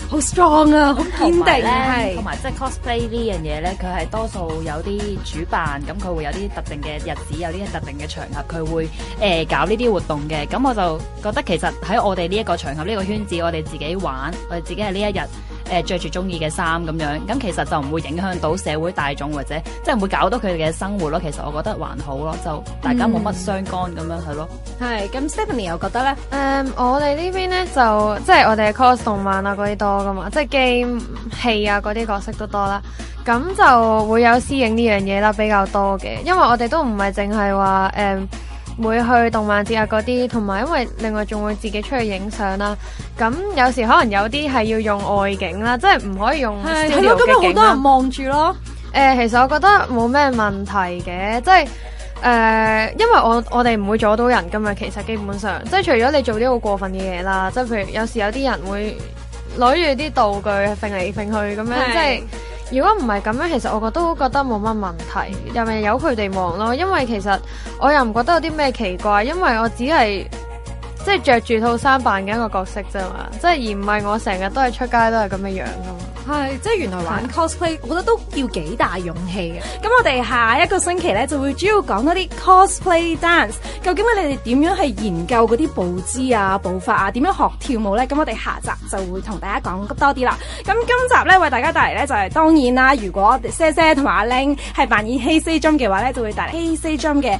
好 strong 啊，好堅定咧， 係同。埋即係 cosplay 呢樣嘢咧，佢係多數有啲主辦，咁佢會有啲特定嘅日子，有啲特定嘅場合，佢會搞呢啲活動嘅。咁我就覺得其實喺我哋呢一個場合、呢個圈子，我哋自己玩，我哋自己係呢一日着住中意嘅衫咁樣，咁其實就唔會影響到社會大眾或者即係唔會搞到佢哋嘅生活咯。其實我覺得還好咯，就大家冇乜相干咁樣係咯。 係咁 Stephanie 又覺得咧， 我哋呢邊咧就即係我哋 cos 動漫啊嗰啲多噶嘛，即係 game 戲啊嗰啲角色都多啦，咁就會有私影呢樣嘢啦比較多嘅，因為我哋都唔係淨係話會去動漫節啊嗰啲，同埋因為另外仲會自己出去影相啦，咁有時可能有啲係要用外景啦，即係唔可以用 studio 咯，咁有好嘅景啦多人。望住咯。 其實我覺得冇咩問題嘅，即係因為我哋唔會阻到人噶嘛，其實基本上即係除咗你做啲好過分嘅嘢啦，即係譬如有時有啲人會攞住啲道具揈嚟揈去咁樣， 係即係如果唔係咁樣，其實我都覺得冇乜問題，又咪由佢哋望咯，因為其實我又唔覺得有啲咩奇怪，因為我只係即係着住套衫扮緊一個角色啫嘛，即係而唔係我成日都係出街都係咁嘅樣噶嘛。 係，即係原來玩 cosplay，我覺得都要幾大勇氣嘅。咁我哋下一個星期咧就會主要講多啲 cosplay dance。究竟你哋點樣去研究嗰啲步姿啊、步法啊，點樣學跳舞咧？咁我哋下集就會同大家講多啲啦。咁今集咧為大家帶嚟咧就係當然啦，如果姐姐同埋阿 Ling 係扮演 Hey Say Jump 嘅話咧，就會帶嚟 Hey Say Jump 嘅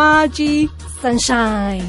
Magic Sunshine。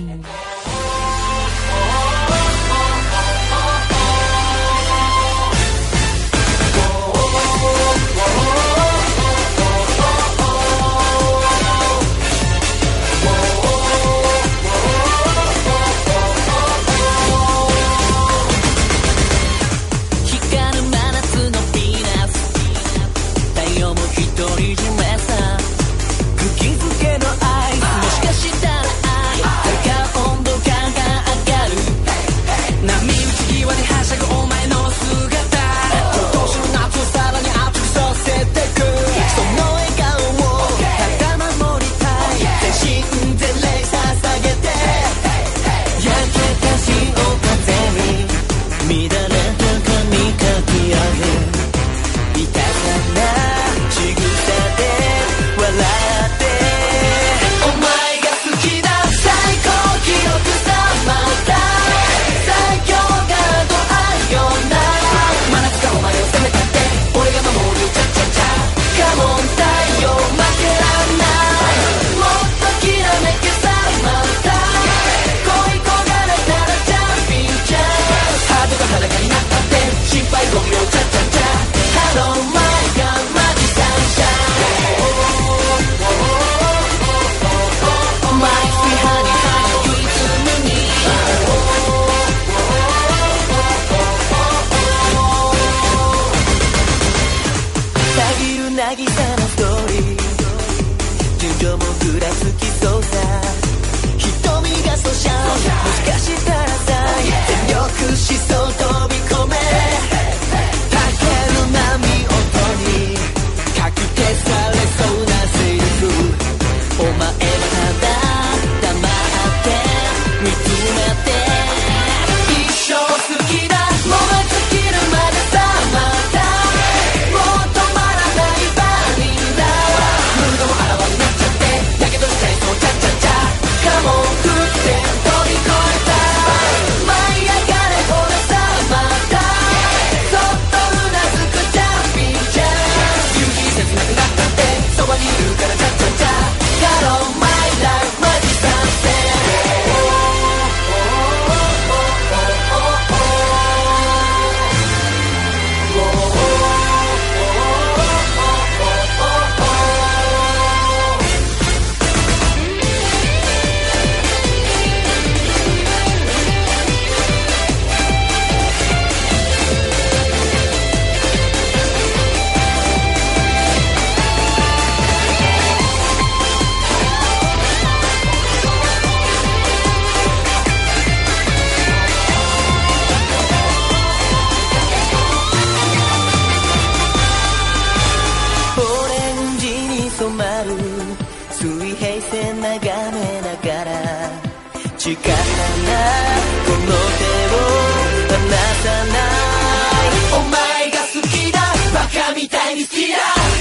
力なこの手を離さない Felicidad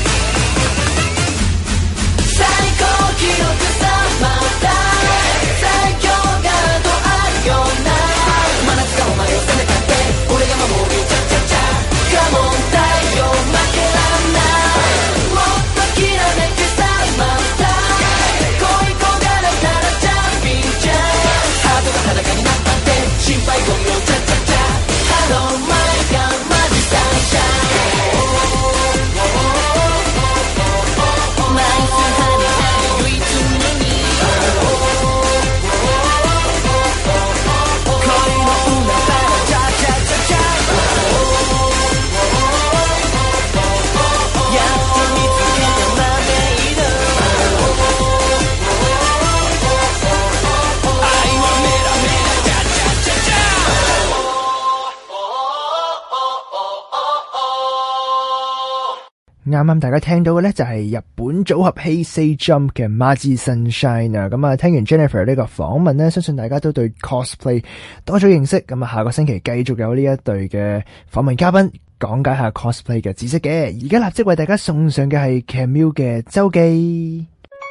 最高記録さまだ最強がとあるような真夏がお前を責めたって俺が守るチャチャチャ Come on 太陽負けらんないもっときらめくさまだ恋焦がれたらチャンピンじゃハートが裸になったって心配ご無用チャチャチャ Hello my god マジサンシャイン啱啱大家聽到嘅呢，就係日本組合 Hey Say Jump 嘅 Magic Sunshine 啊，咁啊聽完 Jennifer 呢個訪問呢，相信大家都對 cosplay 多咗認識，咁啊下個星期繼續有呢一對嘅訪問嘉賓講解下 cosplay 嘅知識嘅，而家立即為大家送上嘅係 Camille 嘅周記。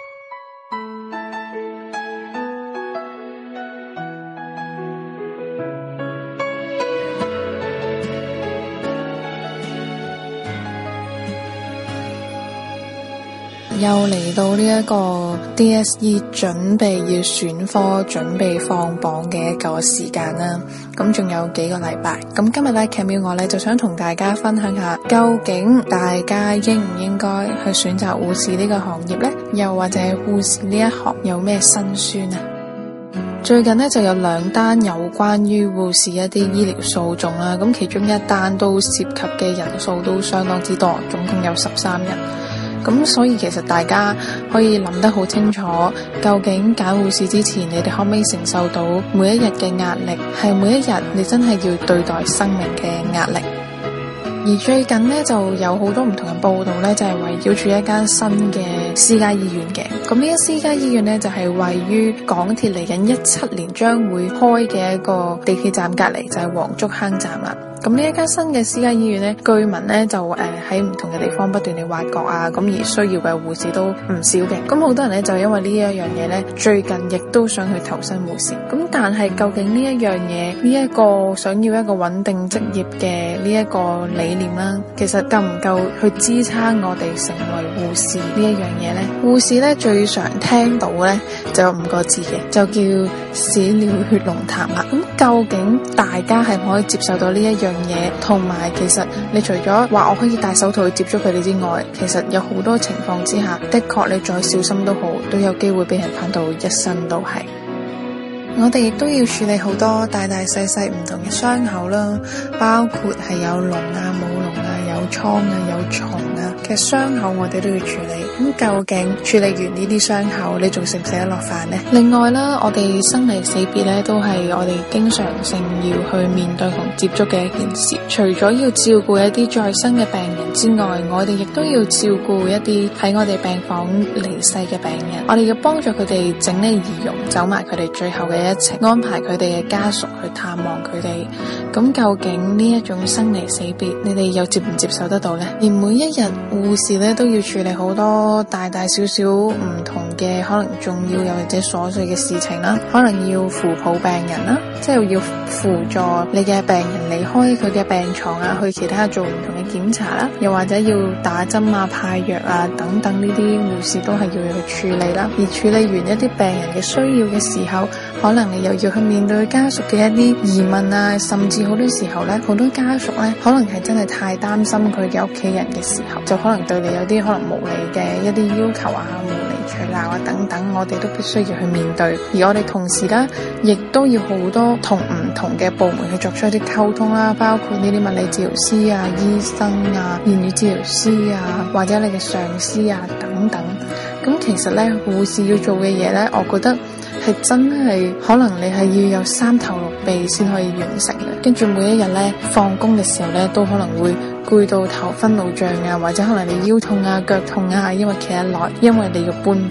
又嚟到呢一個 DSE 準備要選科、準備放榜嘅一個時間啦。咁仲有幾個禮拜。咁今日咧 Camille 我咧就想同大家分享下，究竟大家應唔應該去選擇護士呢個行業呢？又或者護士呢一行有咩辛酸啊？最近呢，就有2單有關於護士一啲醫療訴訟啦。咁其中一單都涉及嘅人數都相當之多，總共有13人。咁所以其實大家可以諗得好清楚，究竟揀護士之前，你哋可唔可以承受到每一日嘅壓力，係每一日你真係要對待生命嘅壓力。而最近呢，就有好多唔同嘅報道呢，就係圍繞住一間新嘅私家醫院嘅。咁呢間私家醫院呢，就係位於港鐵嚟緊17年將會開嘅一個地鐵站隔離，就係黃竹坑站啦。咁呢一間新嘅私家醫院呢，據聞呢就喺唔同嘅地方不斷地挖角啊，咁而需要嘅護士都唔少嘅。咁好多人呢，就因為呢一樣嘢呢，最近亦都想去投身護士。咁但係究竟呢一樣嘢，呢一個想要一個穩定職業嘅呢一個理念啦，其實夠唔夠去支撐我哋成為護士呢一樣嘢呢？護士呢，最常聽到呢就有5個字嘅，就叫屎尿血濃痰啦。咁究竟大家係唔可以接受到呢一樣嘢？同埋其實你除咗話我可以戴手套去接觸佢哋之外，其實有好多情況之下，的確你再小心都好，都有機會俾人噴到一身都係。我哋亦都要處理好多大大細細唔同嘅傷口啦，包括係有膿啊、冇膿啊、有瘡啊、有蟲啊嘅傷口，我哋都要處理。咁究竟處理完呢啲傷口，你仲食唔食得落飯呢？另外啦，我哋生離死別咧，都係我哋經常性要去面對同接觸嘅一件事。除咗要照顧一啲在生嘅病人之外，我哋亦都要照顧一啲喺我哋病房離世嘅病人。我哋要幫助佢哋整理儀容，走埋佢哋最後嘅一程，安排佢哋嘅家屬去探望佢哋。咁究竟呢一種生離死別，你哋又接唔接受得到呢？而每一日護士咧都要處理好多大大小小唔同嘅可能重要又或者瑣碎嘅事情啦，可能要扶抱病人啦，即係要輔助你嘅病人離開佢嘅病床啊，去其他做唔同嘅檢查啦，又或者要打針啊、派藥啊等等，呢啲護士都係要去處理啦。而處理完一啲病人嘅需要嘅時候，可能你又要去面對家屬嘅一啲疑問啊，甚至好多時候咧，好多家屬咧可能係真係太擔心佢嘅屋企人嘅時候，就可能對你有啲可能無理嘅一啲要求啊、無理取鬧啊等等，我哋都必須要去面對。而我哋同時咧，亦都要好多同唔同嘅部門去作出一啲溝通啦，包括呢啲物理治療師啊、醫生啊、言語治療師啊，或者你嘅上司啊等等。咁其實咧，護士要做嘅嘢咧，我覺得係真係可能你係要有3頭6臂先可以完成嘅。跟住每一日咧放工嘅時候咧，都可能會攰到頭昏腦脹啊，或者可能你腰痛啊、腳痛啊，因為企得耐，因為你要搬病人。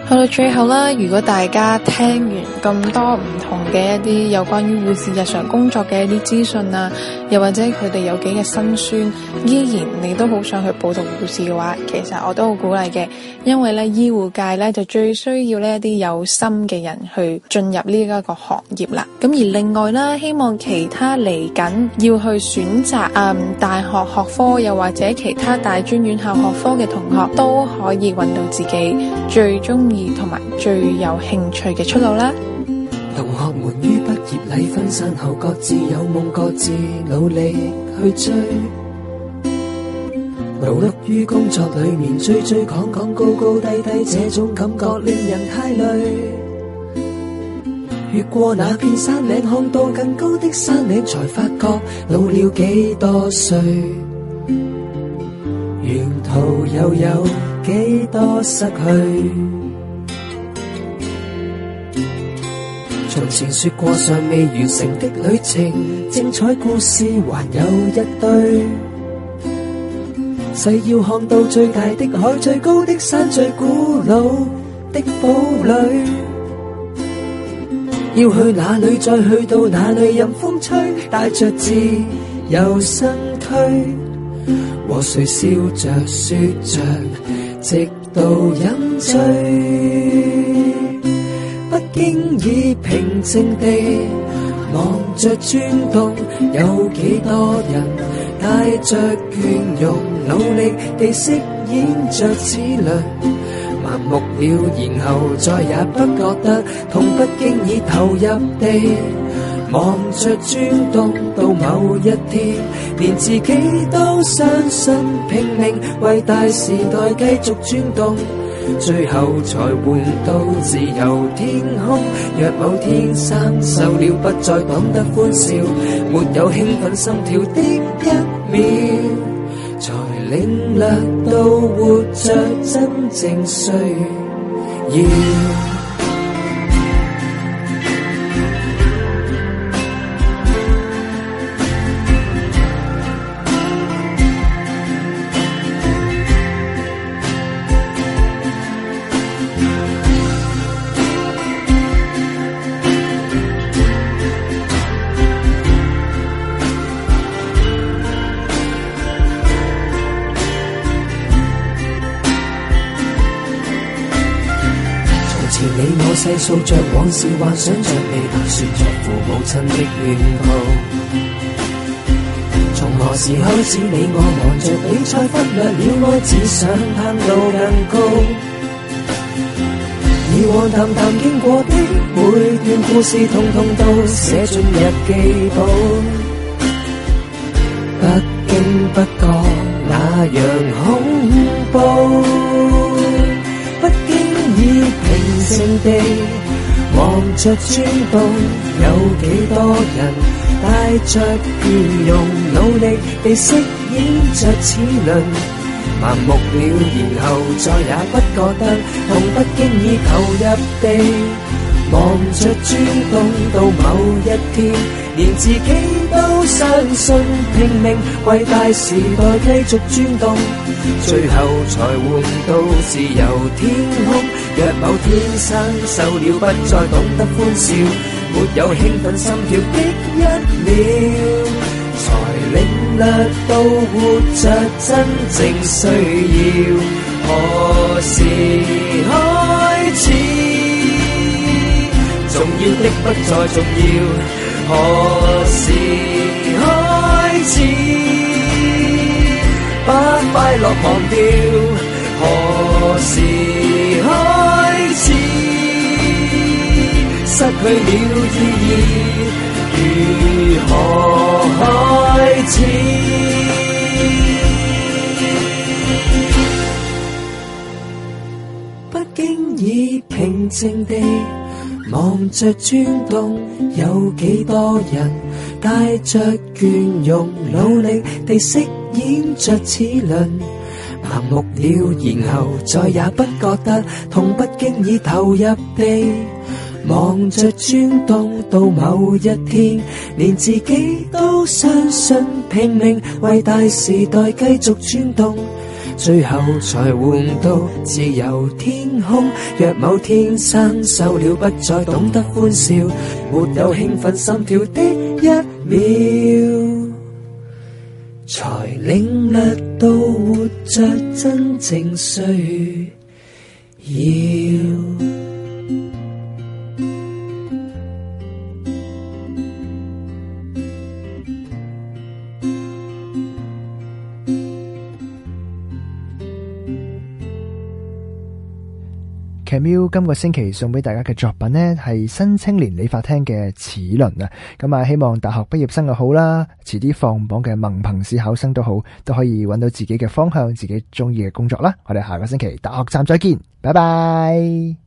去到最後啦，如果大家聽完咁多唔同嘅一啲有關於護士日常工作嘅一啲資訊啊，又或者佢哋有幾嘅辛酸，依然你都好想去報讀護士嘅話，其實我都好鼓勵嘅，因為咧醫護界咧就最需要呢一啲有心嘅人去進入呢一個行業啦。咁而另外啦，希望其他嚟緊要去選擇大學學科又或者其他大專院校學科嘅同學都可以揾到自己最中意同埋最有興趣嘅出路啦。 同學們於畢業禮分散後，各自有夢，各自努力去追。勞碌於工作裏面，追追趕趕，高高低低，這種感覺令人太累。越過那片山嶺，看到更高的山嶺，才發覺老了幾多歲，沿途又有幾多失去。從前說過尚未完成的旅程，精彩故事還有一堆。誓要看到最大的海，最高的山，最古老的堡壘。要去哪裏，再去到哪裏，任風吹，帶着自由身軀。和誰笑着說着，直到飲醉。不經意平靜地望着轉動，有幾多人帶着倦容，努力地飾演着齒輪，麻木了，然後再也不覺得痛，不經意投入地望着轉動，到某一天連自己都相信，拼命為大時代繼續轉動，最後才換到自由天空。若某天生銹了，不再懂得歡笑，沒有興奮心跳的一秒，才領略到活着真正需要。細數着往事，幻想着未來，說着父母親的願望。從何時開始，你我忙着比賽，忽略了愛，只想攀到更高。以往淡淡經過的每段故事，統統都寫進日記簿。不經不覺那樣恐怖。不經意平靜地望着轉動，有幾多人帶着倦容，努力地飾演着齒輪，麻木了，然後再也不覺得痛，不經意投入地望着轉動，到某一天連自己都相信，拼命為大時代繼續轉動，最後才換到自由天空。若某天生銹了，不再懂得歡笑，沒有興奮心跳的一秒，才領略到活着真正需要。何時開始？重要的不再重要。何時開始？把快樂忘掉。何時開始？失去了意義，如何開始？不經意平靜地望着轉動，有幾多人帶着倦容，努力地飾演着齒輪，麻木了，然後再也不覺得痛，不經意投入地望着轉動，到某一天連自己都相信，拼命為大時代繼續轉動， 最後才換到自由天空。若某天生銹了，不再懂得歡笑，沒有興奮心跳的一秒，才領略到活着真正需要。 Camille 今個星期送俾大家嘅作品呢，係新青年理髮廳嘅齒輪啊！咁啊，希望大學畢業生又好啦，遲啲放榜嘅文憑試考生都好，都可以揾到自己嘅方向，自己中意嘅工作啦！我哋下個星期大學站再見，拜拜。